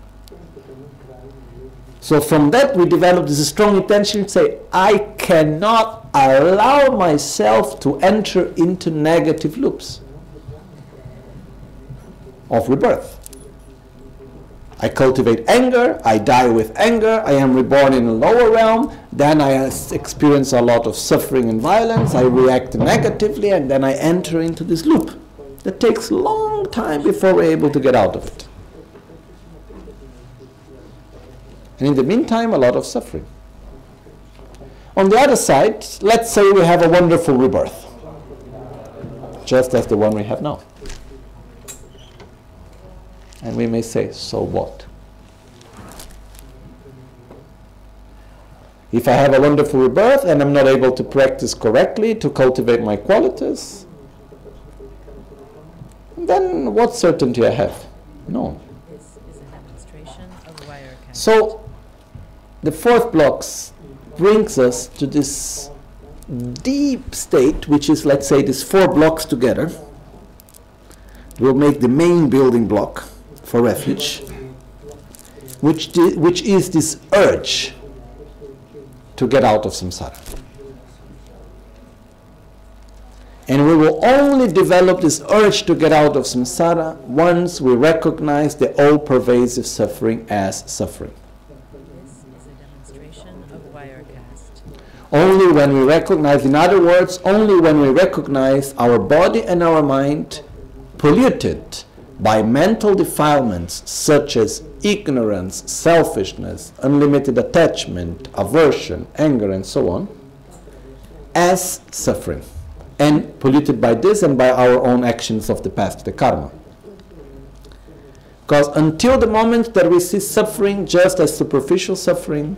So from that we develop this strong intention to say, I cannot allow myself to enter into negative loops of rebirth. I cultivate anger, I die with anger, I am reborn in a lower realm, then I experience a lot of suffering and violence, I react negatively, and then I enter into this loop that takes a long time before we're able to get out of it. And in the meantime, a lot of suffering. On the other side, let's say we have a wonderful rebirth, just as the one we have now. And we may say, so what? If I have a wonderful rebirth and I'm not able to practice correctly to cultivate my qualities, then what certainty I have? No. This is a demonstration of Wirecast. So the fourth blocks brings us to this deep state, which is, let's say, these 4 blocks together will make the main building block for refuge, which is this urge to get out of samsara. And we will only develop this urge to get out of samsara once we recognize the all-pervasive suffering as suffering. This is a demonstration of Wirecast. Only when we recognize, in other words, only when we recognize our body and our mind polluted by mental defilements such as ignorance, selfishness, unlimited attachment, aversion, anger, and so on, as suffering, and polluted by this and by our own actions of the past, the karma. Because until the moment that we see suffering just as superficial suffering,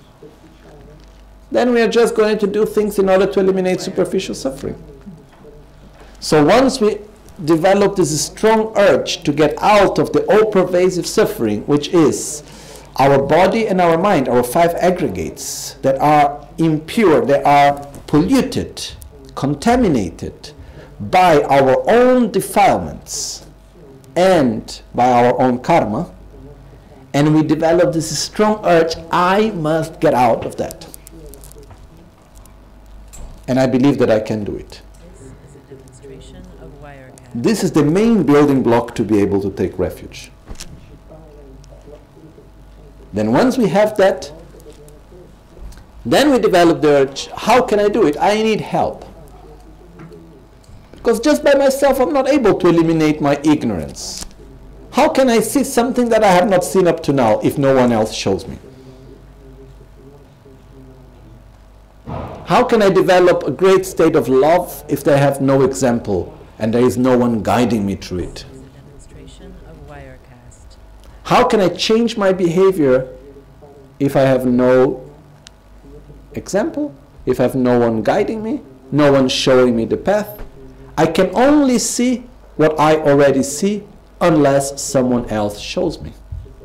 then we are just going to do things in order to eliminate superficial suffering. So once we develop this strong urge to get out of the all-pervasive suffering, which is our body and our mind, our 5 aggregates that are impure, they are polluted, contaminated by our own defilements and by our own karma, and we develop this strong urge, I must get out of that. And I believe that I can do it. This is a demonstration of Wirecast. This is the main building block to be able to take refuge. Then once we have that, then we develop the urge, how can I do it? I need help. Because just by myself I'm not able to eliminate my ignorance. How can I see something that I have not seen up to now if no one else shows me? How can I develop a great state of love if I have no example and there is no one guiding me through it? This is a demonstration of Wirecast. How can I change my behavior if I have no example, if I have no one guiding me, no one showing me the path? I can only see what I already see unless someone else shows me.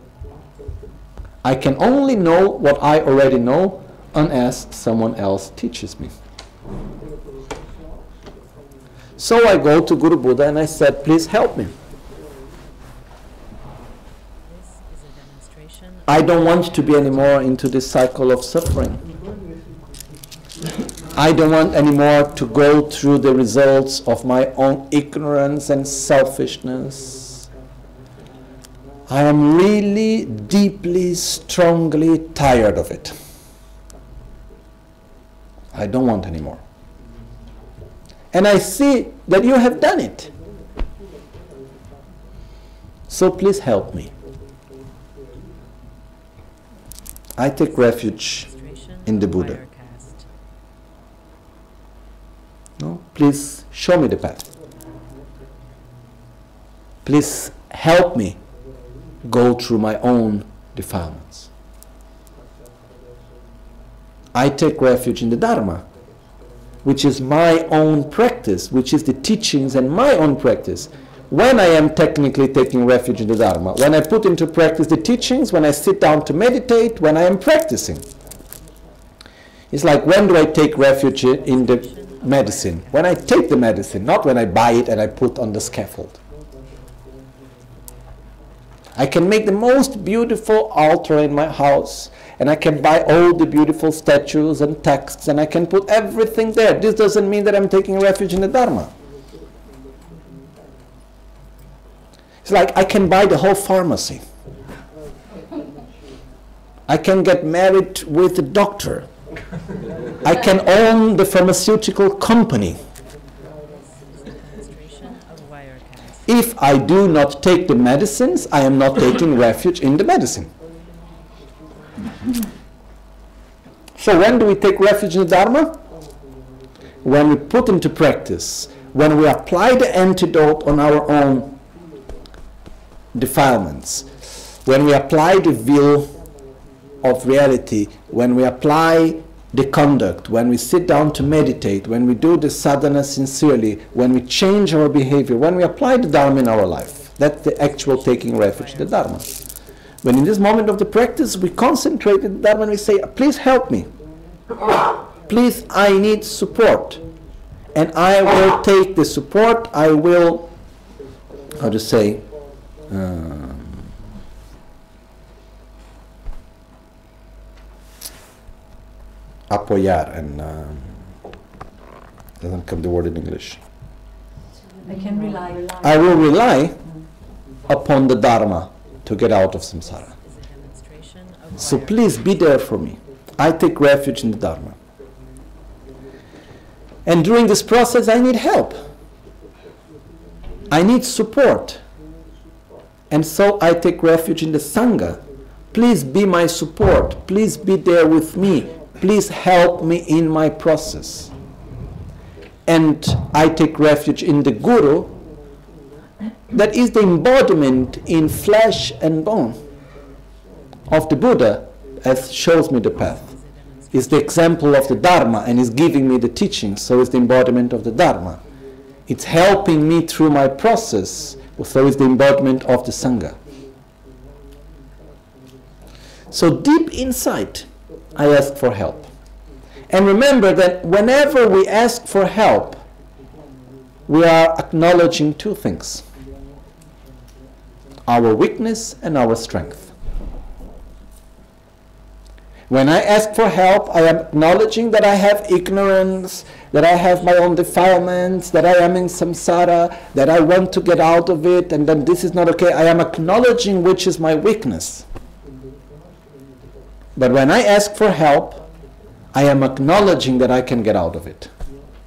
I can only know what I already know unless someone else teaches me. So I go to Guru Buddha and I said, please help me. This is a demonstration I don't want to be anymore into this cycle of suffering. I don't want anymore to go through the results of my own ignorance and selfishness. I am really deeply, strongly tired of it. I don't want anymore. And I see that you have done it. So please help me. I take refuge demonstration in the of Buddha. Wirecast. No? Please show me the path. Please help me go through my own defilements. I take refuge in the Dharma, which is my own practice, which is the teachings and my own practice. When I am technically taking refuge in the Dharma, when I put into practice the teachings, when I sit down to meditate, when I am practicing. It's like, when do I take refuge in the medicine? When I take the medicine, not when I buy it and I put on the scaffold. I can make the most beautiful altar in my house, and I can buy all the beautiful statues and texts, and I can put everything there. This doesn't mean that I'm taking refuge in the Dharma. It's like I can buy the whole pharmacy, I can get married with a doctor. I can own the pharmaceutical company. Administration of Wirecast. If I do not take the medicines, I am not taking refuge in the medicine. So when do we take refuge in the Dharma? When we put into practice, when we apply the antidote on our own defilements, when we apply the will of reality, when we apply the conduct, when we sit down to meditate, when we do the sadhana sincerely, when we change our behavior, when we apply the Dharma in our life. That's the actual taking refuge in the Dharma. When in this moment of the practice we concentrate in the Dharma and we say, please help me. Please, I need support. And I will take the support, I will, how to say, apoyar, and doesn't come the word in English. I can rely. I will rely upon the Dharma to get out of samsara. Is a demonstration of So Wirecast. please be there for me. I take refuge in the Dharma. And during this process I need help. I need support. And so I take refuge in the Sangha. Please be my support. Please be there with me. Please help me in my process. And I take refuge in the Guru, that is the embodiment in flesh and bone of the Buddha, as shows me the path. Is the example of the Dharma and is giving me the teaching, so it's the embodiment of the Dharma. It's helping me through my process, so it's the embodiment of the Sangha. So deep inside, I ask for help. And remember that whenever we ask for help, we are acknowledging two things: our weakness and our strength. When I ask for help, I am acknowledging that I have ignorance, that I have my own defilements, that I am in samsara, that I want to get out of it, and then this is not okay. I am acknowledging which is my weakness. But when I ask for help, I am acknowledging that I can get out of it.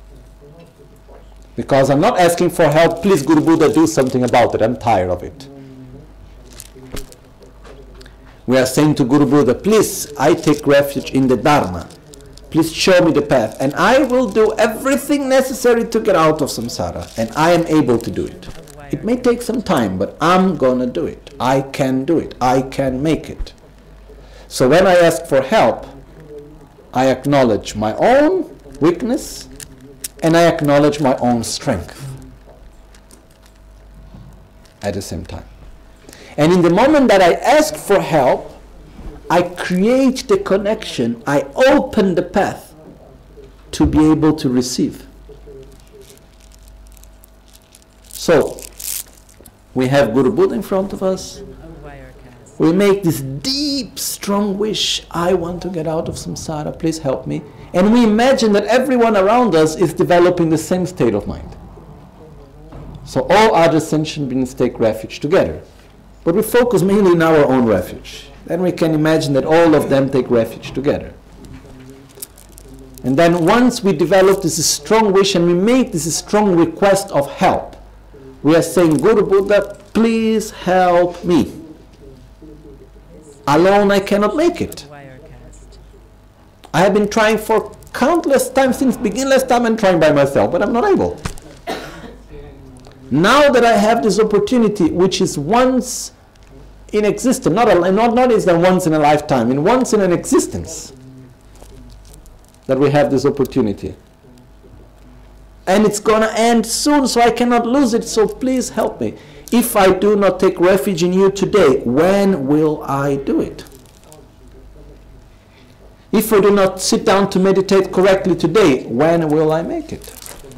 Because I'm not asking for help, please Guru Buddha do something about it, I'm tired of it. We are saying to Guru Buddha, please, I take refuge in the Dharma. Please show me the path. And I will do everything necessary to get out of samsara. And I am able to do it. It may take some time, but I'm going to do it. I can do it. I can make it. So when I ask for help, I acknowledge my own weakness and I acknowledge my own strength at the same time. And in the moment that I ask for help, I create the connection, I open the path to be able to receive. So, we have Guru Buddha in front of us. Of Wirecast. We make this deep, strong wish, I want to get out of samsara, please help me. And we imagine that everyone around us is developing the same state of mind. So all other sentient beings take refuge together. But we focus mainly in our own refuge. Then we can imagine that all of them take refuge together. And then once we develop this strong wish and we make this strong request of help, we are saying, Guru Buddha, please help me. Alone I cannot make it. Wirecast. I have been trying for countless times since beginningless time and trying by myself, but I'm not able. Now that I have this opportunity, which is once in existence, not is that once in a lifetime, in once in an existence, that we have this opportunity. And it's going to end soon, so I cannot lose it, so please help me. If I do not take refuge in you today, when will I do it? If I do not sit down to meditate correctly today, when will I make it?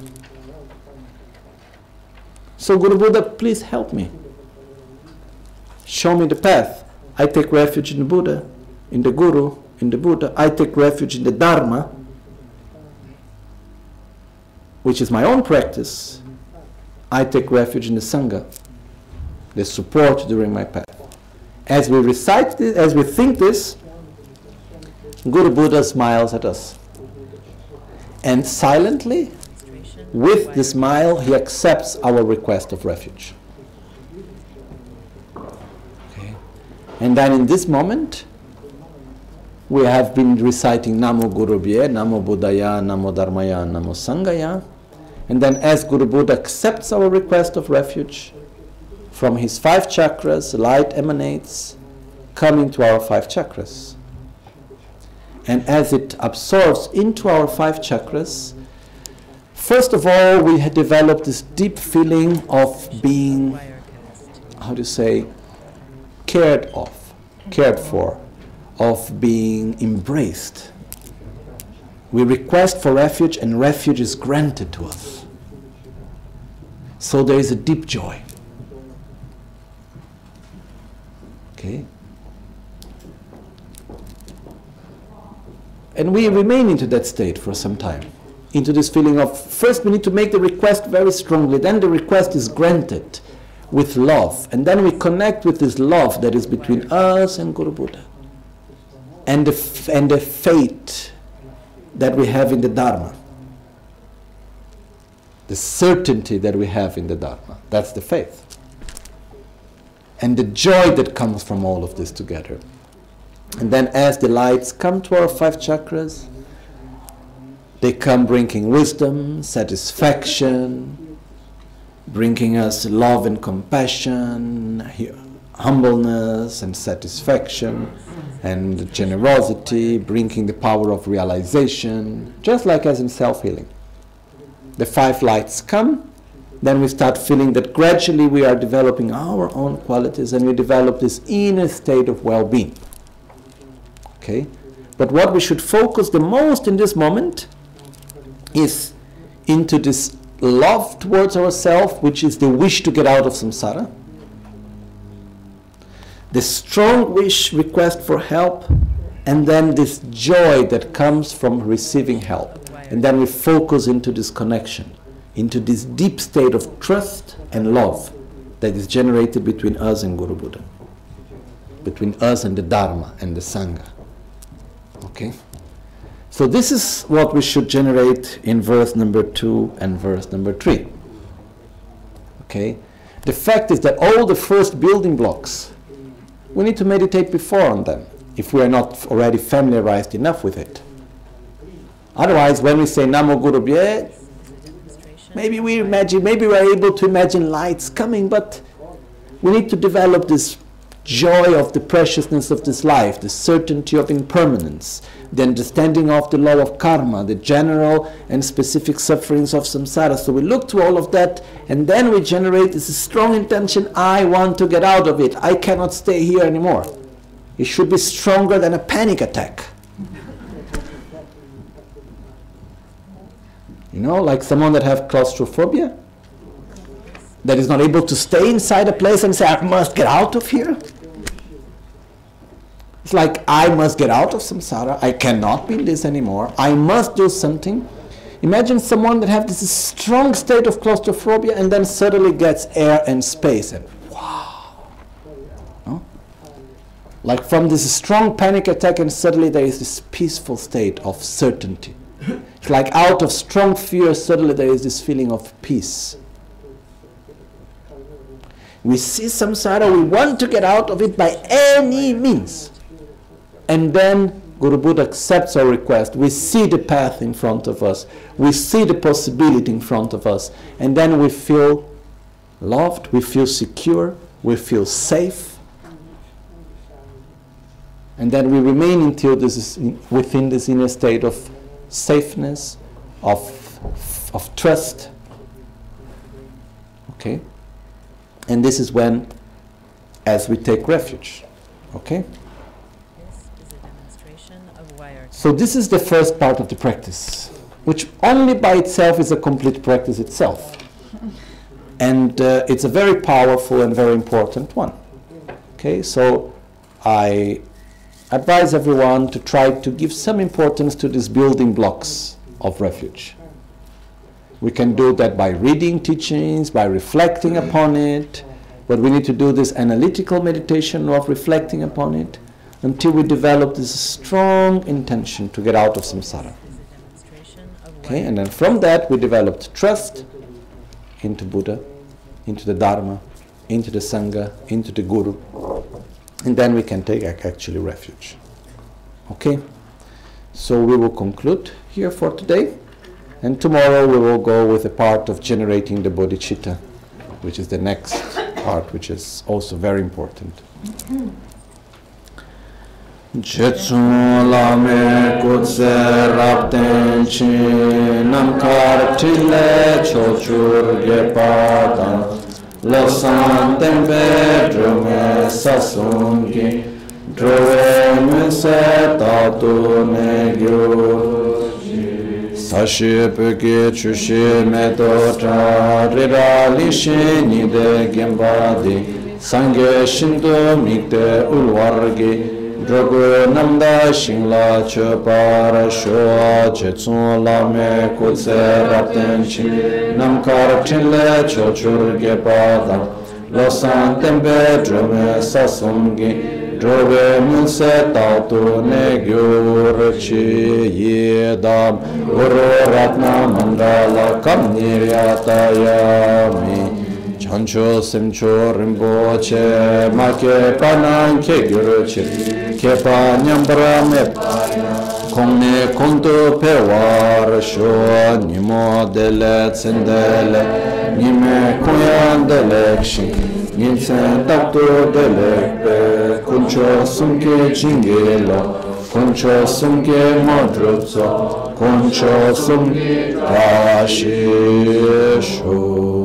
So Guru Buddha, please help me. Show me the path. I take refuge in the Buddha, in the Guru, in the Buddha. I take refuge in the Dharma, which is my own practice. I take refuge in the Sangha, the support during my path. As we recite this, as we think this, Guru Buddha smiles at us. And silently, with the smile, he accepts our request of refuge. Okay. And then in this moment, we have been reciting Namo Guru Bhye, Namo Buddhaya, Namo Dharmaya, Namo Sanghaya. And then as Guru Buddha accepts our request of refuge, from his 5 chakras, light emanates, coming to our 5 chakras. And as it absorbs into our 5 chakras, first of all, we had developed this deep feeling of being, how do you say, cared for, of being embraced. We request for refuge, and refuge is granted to us. So there is a deep joy. Okay? And we remain into that state for some time. Into this feeling of, first we need to make the request very strongly, then the request is granted with love, and then we connect with this love that is between us and Guru Buddha, and the faith that we have in the Dharma, the certainty that we have in the Dharma. That's the faith. And the joy that comes from all of this together. And then as the lights come to our 5 chakras, they come bringing wisdom, satisfaction, bringing us love and compassion, humbleness and satisfaction, and generosity, bringing the power of realization, just like as in self-healing. The 5 lights come, then we start feeling that gradually we are developing our own qualities, and we develop this inner state of well-being. Okay? But what we should focus the most in this moment is into this love towards ourselves, which is the wish to get out of samsara, the strong wish, request for help, and then this joy that comes from receiving help. And then we focus into this connection, into this deep state of trust and love that is generated between us and Guru Buddha, between us and the Dharma and the Sangha. Okay? So this is what we should generate in verse number 2 and verse number 3. Okay? The fact is that all the first building blocks, we need to meditate before on them, if we are not already familiarized enough with it. Otherwise, when we say Namo Guru Bhye, maybe we are able to imagine lights coming, but we need to develop this joy of the preciousness of this life, the certainty of impermanence, the understanding of the law of karma, the general and specific sufferings of samsara. So we look to all of that, and then we generate this strong intention, I want to get out of it, I cannot stay here anymore. It should be stronger than a panic attack. You know, like someone that have claustrophobia, that is not able to stay inside a place and say, I must get out of here. It's like, I must get out of samsara, I cannot be in this anymore, I must do something. Imagine someone that has this strong state of claustrophobia and then suddenly gets air and space, and wow. No? Like from this strong panic attack, and suddenly there is this peaceful state of certainty. It's like out of strong fear, suddenly there is this feeling of peace. We see samsara, we want to get out of it by any means. And then Guru Buddha accepts our request. We see the path in front of us. We see the possibility in front of us. And then we feel loved, we feel secure, we feel safe. And then we remain until this is within this inner state of safeness, of trust. Okay? And this is when, as we take refuge. Okay? So this is the first part of the practice, which only by itself is a complete practice itself. And it's a very powerful and very important one. Okay, so I advise everyone to try to give some importance to these building blocks of refuge. We can do that by reading teachings, by reflecting upon it, but we need to do this analytical meditation of reflecting upon it, until we develop this strong intention to get out of samsara. Okay, and then from that we developed trust into Buddha, into the Dharma, into the Sangha, into the Guru, and then we can take actually refuge. Okay, so we will conclude here for today, and tomorrow we will go with the part of generating the bodhicitta, which is the next part, which is also very important. Jetsun lame kutse rapten chi namkar tile chochur gepadan losan tempe drume sasungi drove muse tatu negyu sashi peke chushi meto tra rirali shi nide gembadi sangye shinto mikte ulwargi Drogo namda shingla chopara shoa jetsun lame kutse rapten chi namkar tinle chochur gepada losan tembe drume sasungi drove munse tautu negyur chi yedam uru ratna mandala kam niryatayami Chancho semcho rinpoche ma ke panan ke gyuru chi ke pa nyambra me kongne konto pe war sho nimo dele tsendele nime kuyan dele kshi ninsen takto dele pe kuncho sumke chingelo kuncho sumke modrutso kuncho sumke rashi sho